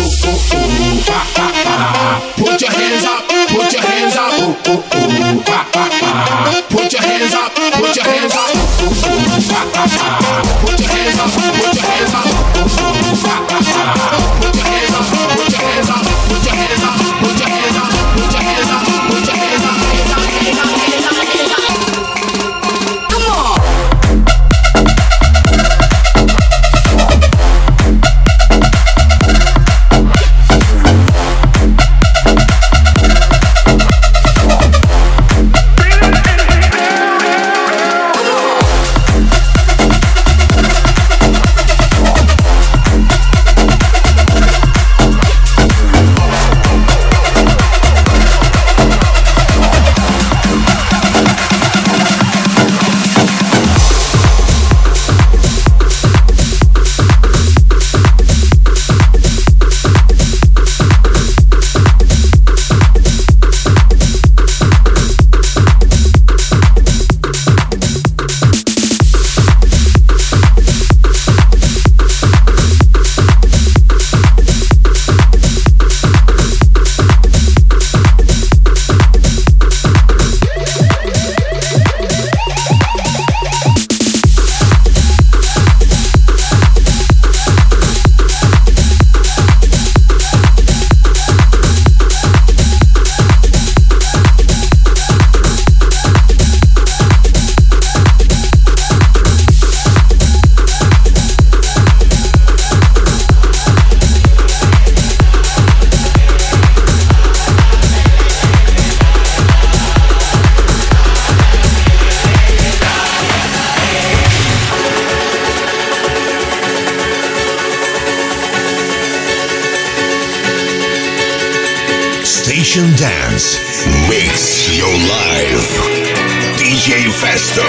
Put your hands up, put your hands up. Put your hands up, put your hands up. Put your hands up, put your hands up. Put your hands up, put your hands up. Put your hands up, put your hands up. Put your hands up, put your hands up. Come on. Station Dance. Mix your life. D J Festo.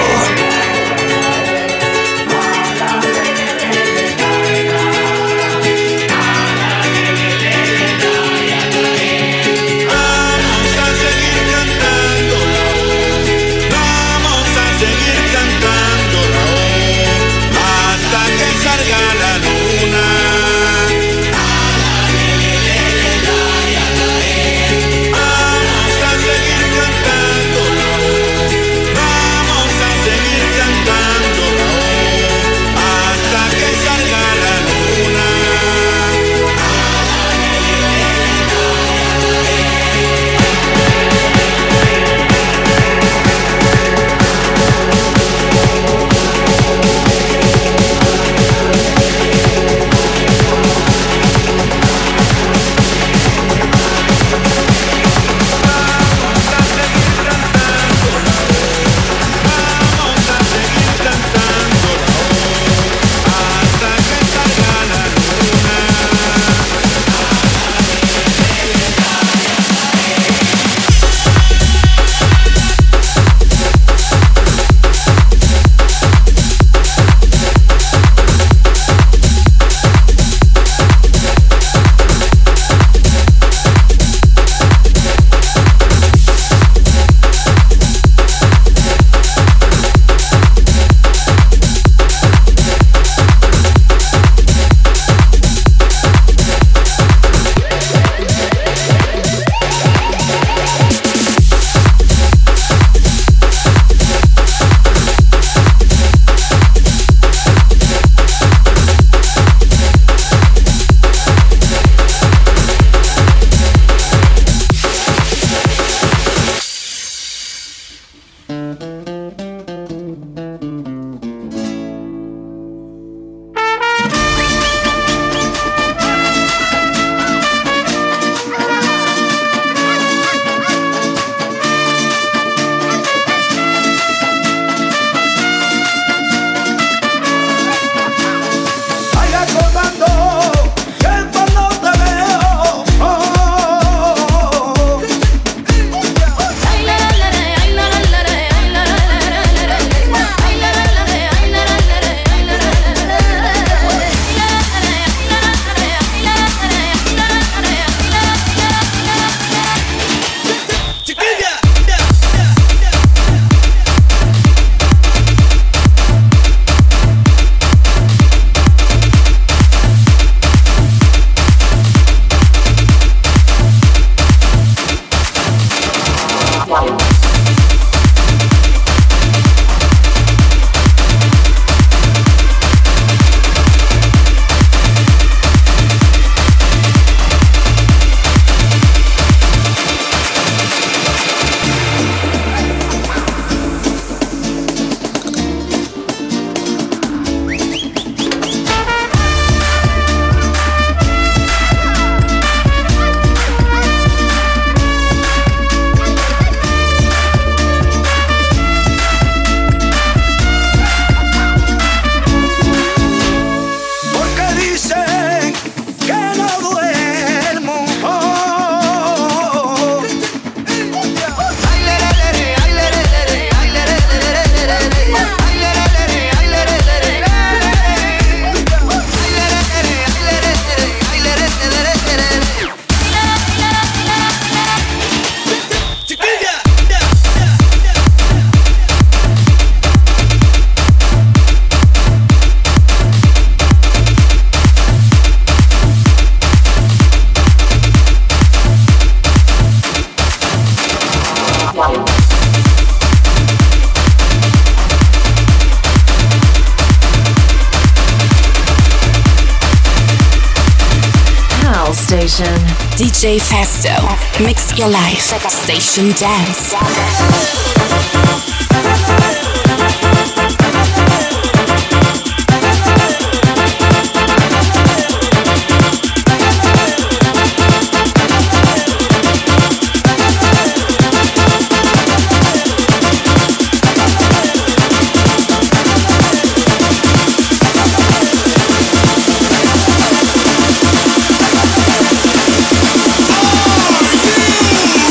Station. D J Festo. Mix your life. Station Dance. Are you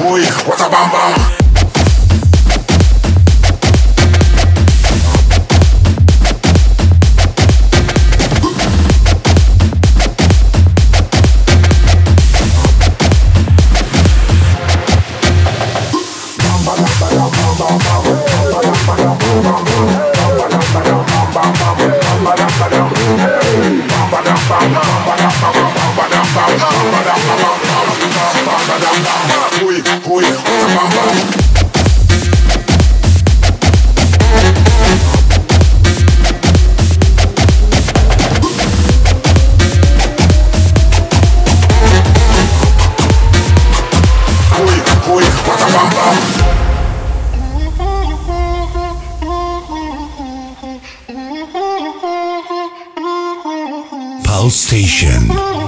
boy, what a bam bam. Pulse Station.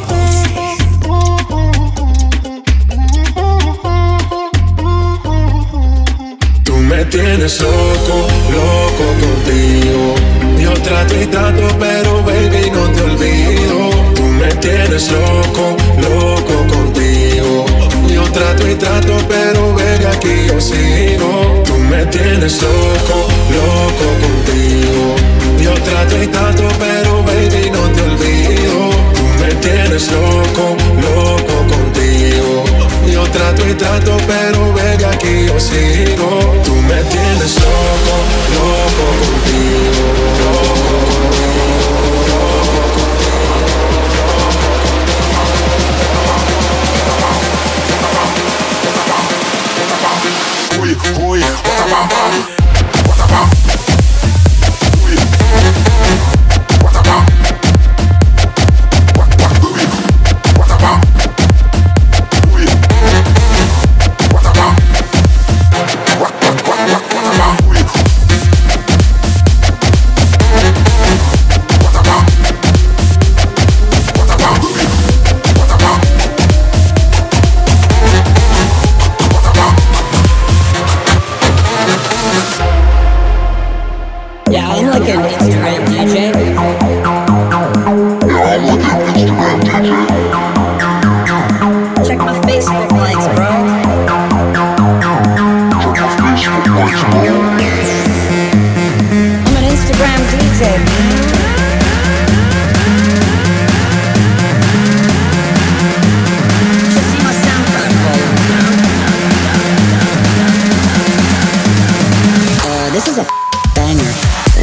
Tú me tienes loco, loco contigo. Yo trato y trato, pero baby no te olvido. Tú me tienes loco, loco contigo. Yo trato y trato, pero baby aquí yo sigo. Tú me tienes loco, loco contigo. Yo trato y trato, pero baby no te olvido. Tú me tienes loco, loco contigo. Yo trato y trato, pero baby aquí yo sigo. Tú me tienes loco, loco contigo, loco contigo, loco contigo. Uy, uy, what a bam bam, what a bam. Uy, what a bam. What what uy, what a bam. Uy, what a bam. What what what what what a bam. Uy, what a bam. What a bam. Uy, what a bam. What a bam. Yeah, I'm like an Instagram D J. Yeah, I'm like an Instagram D J. Check my Facebook likes, bro. Check my Facebook likes, bro. I'm an Instagram D J, man. Should see my SoundCloud follow. Uh, this is a banger.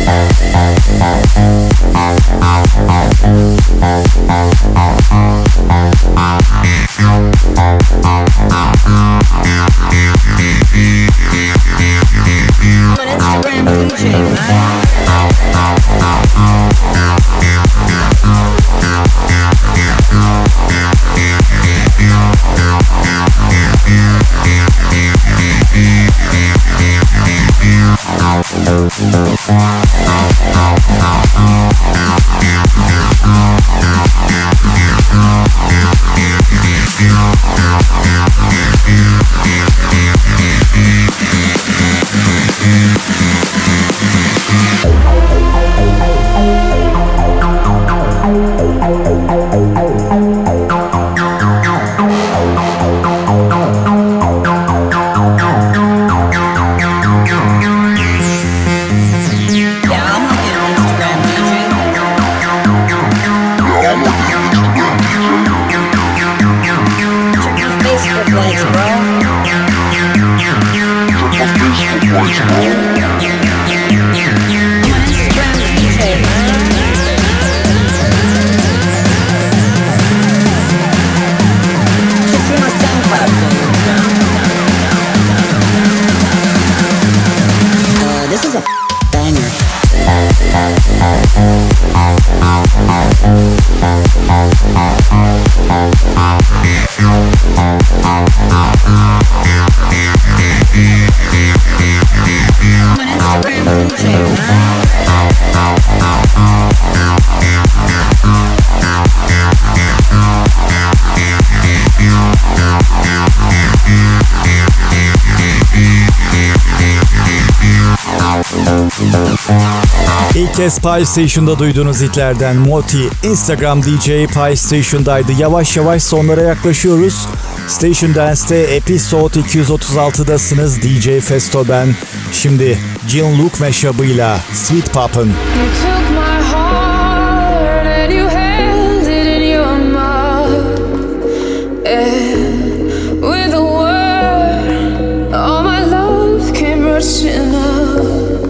I'm an Instagram D J, man. İlk kez Pulse Station'da duyduğunuz hitlerden Moti, Instagram D J Pulse Station'daydı. Yavaş yavaş sonlara yaklaşıyoruz. Station Dance'te Episode iki yüz otuz altıdasınız. D J Festo ben. Şimdi Jean-Luc Mashup'ıyla Sweet Poppin'. You took my heart and you held it in your mouth. And with a word, all my love came rushing out.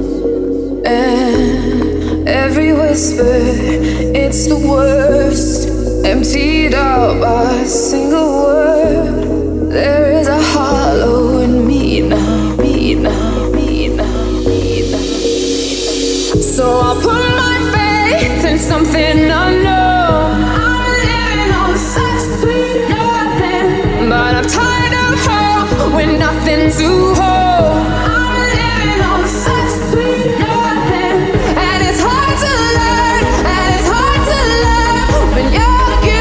And every whisper, it's the worst. Emptied out by a single word. There is a hollow in me now, me now, me now, me now. So I'll put my faith in something unknown. I'm living on such sweet nothing, but I'm tired of hope with nothing to hold. I'm living on such sweet nothing, and it's hard to learn, and it's hard to love when you're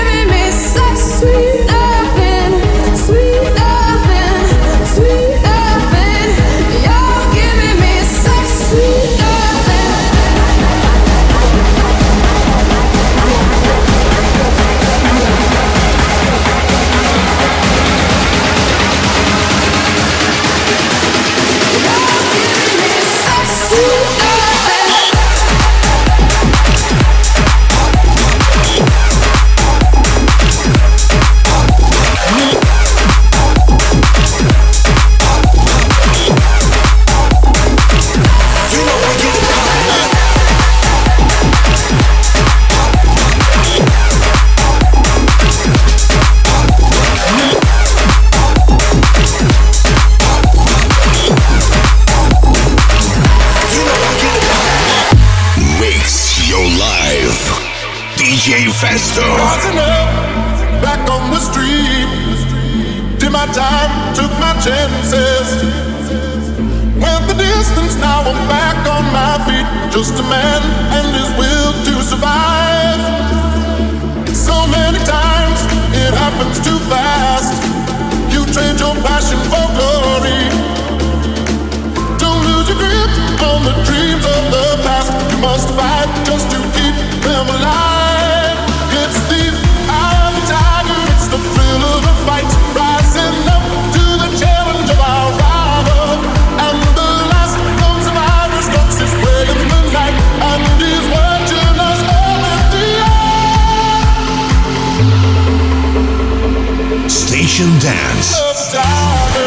sweet nothing, sweet nothing, sweet nothing. You're giving me such sweet nothing. D J Festo. Rising up, back on the street. Did my time, took my chances. Went the distance, now I'm back on my feet. Just a man and his will to survive. So many times, it happens too fast. You trade your passion for glory. Don't lose your grip on the dreams of the past. You must fight just to keep them alive. It's the eye of the tiger, it's the thrill of a fight. Rising up to the challenge of our rival. And the last known survivor stalks his way in the night. And he's watching us all in the air. Station Dance. The tiger.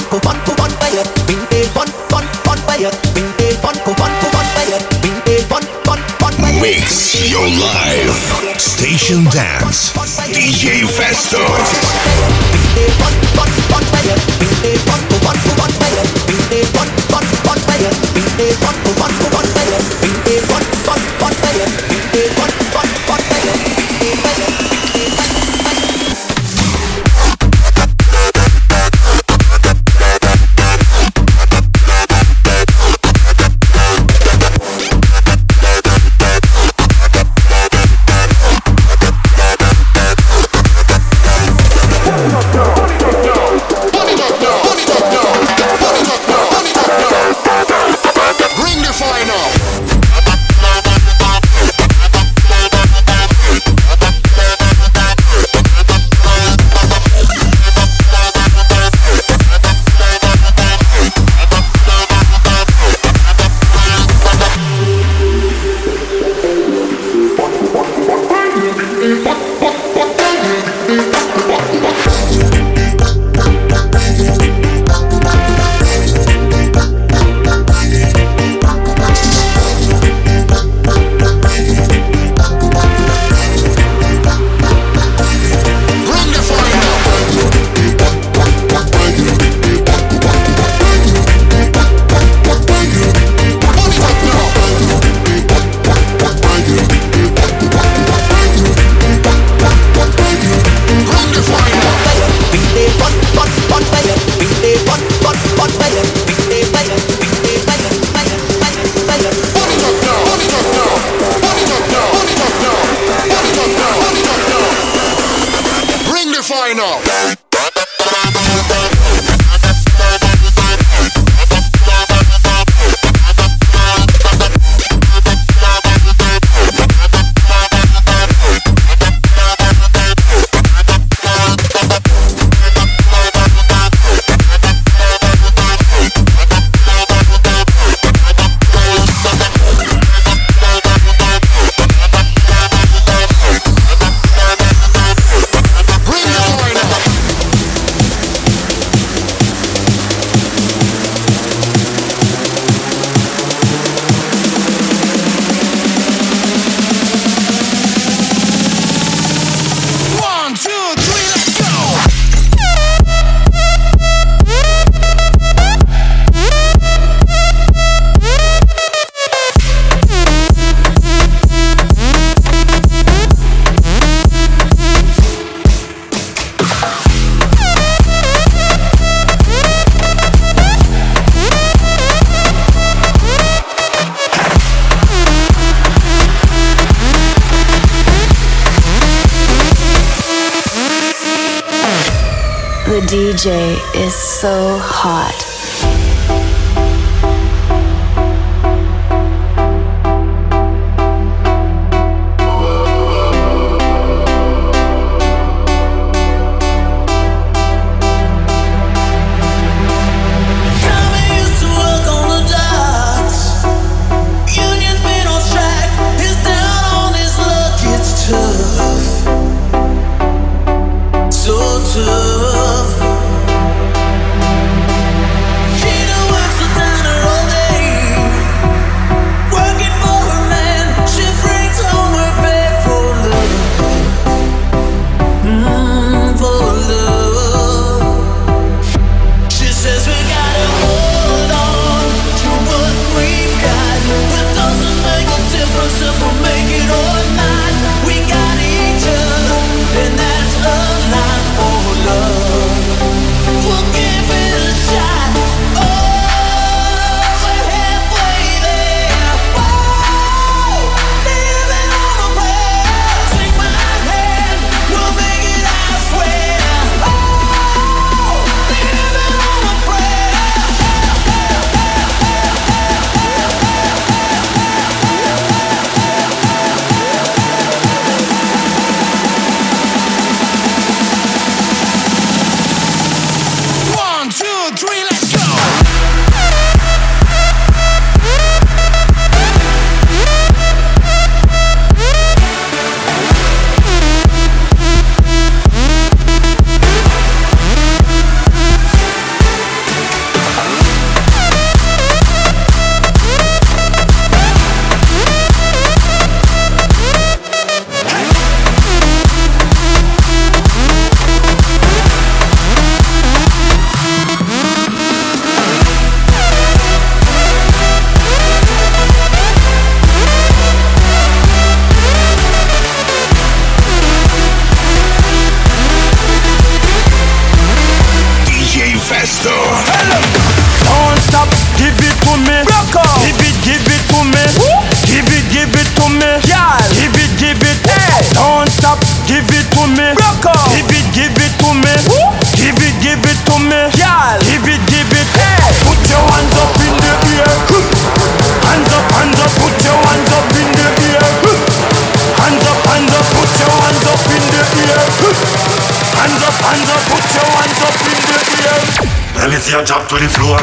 go fun, go fun fire. Bring the fun, fun, fun fire. Bring the fun, go fun, go fun fire. Bring the fun, fun, fun fire. Mix your life. Station Dance. D J Festo. Bring the fun, fun, fun fire. Bring the fun, go fun, go fun fire. Bring the fun, fun, fun fire. Bring the fun, go fun, go fun fire. Bring the fun, fun, fun fire. Bring the fun, fun, fun fire. Bring the fire. The D J is so hot. Tough. Festo. Don't stop, give it to me. Give it, give it to me. Give it, give it to me. Give it, give it. Don't stop, give it to me. Give it, give it to me. Give it, give it to me. Give it, give it. Put your hands up in the air. Hands up, hands up. Put your hands up in the air. Hands up, hands up. Put your hands up in the air. Hands up, hands up. Put your hands up in the air. Let me see you drop to the floor.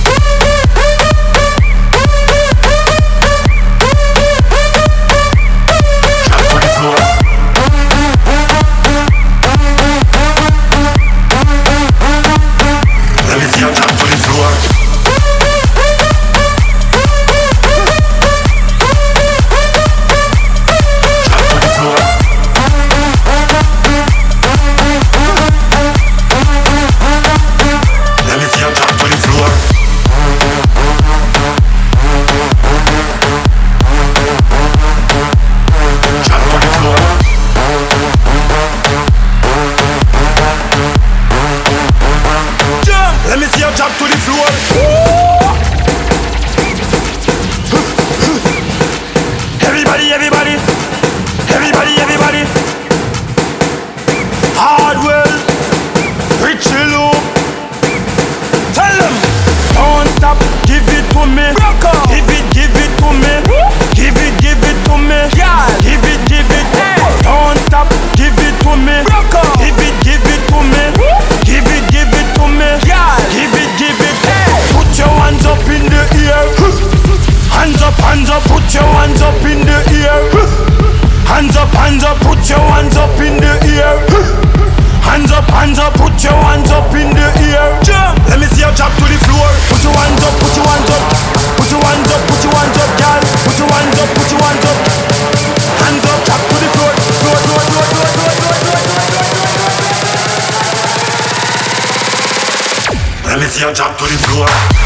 Jump to the floor.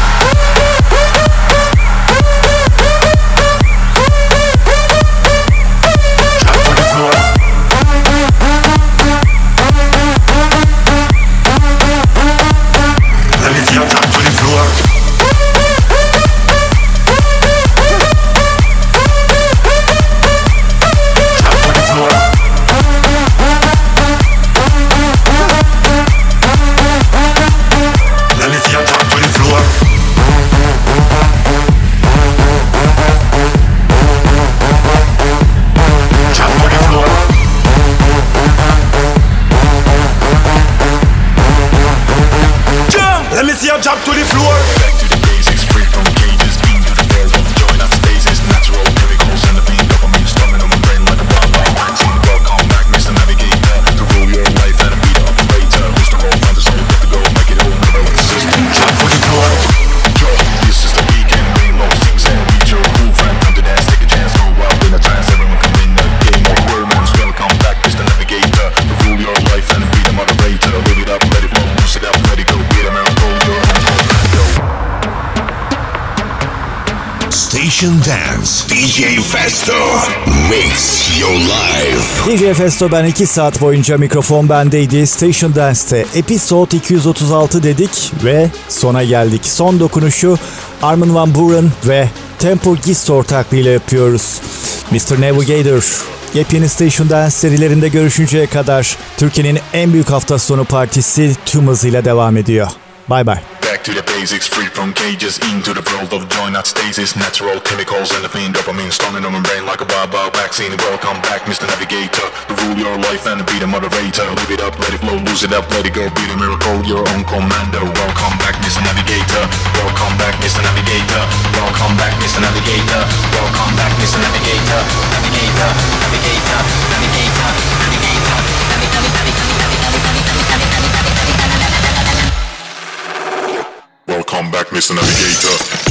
Jump to the floor. Back to the basics, free from cages, into the world of joy, not stasis, natural chemicals and the beat dopamine strumming on my brain like a wild wild vaccine. Welcome back, Mister Navigator, to rule your life and be the operator. Who's the whole fantasy, you get to go, make it all never let the system. Jump to the floor. Yo, this is the weekend, rain low, things and reach your groove and come to dance, take a chance, go wild in a trance, everyone come in the game of romance. Welcome back, Mister Navigator, to rule your life and be the moderator. Live it up, let it flow, lose it up, let it go, be the miracle, you're Station Dance. D J Festo. Mix your life. D J Festo ben iki saat boyunca mikrofon bendeydi. Station Dance'te Episode iki yüz otuz altı dedik ve sona geldik. Son dokunuşu Armin van Buuren ve Tempo Gist ortaklığıyla yapıyoruz. mister Navigator. Yepyeni Station Dance serilerinde görüşünceye kadar Türkiye'nin en büyük hafta sonu partisi tüm hızıyla devam ediyor. Bye bye. Back to the basics, free from cages, into the world of joy, not stasis, natural chemicals and the fiend dopamine storming on my brain like a wild wild vaccine. Welcome back, Mister Navigator, to rule your life and be the moderator. Live it up, let it flow, lose it up, let it go, be the miracle, your own commando. Welcome back, Mister Navigator. Welcome back, Mister Navigator. Welcome back, Mister Navigator. Welcome back, Mister Navigator. Navigator, Navigator, Navigator, Navigator, Navigator. Welcome back, Mister Navigator.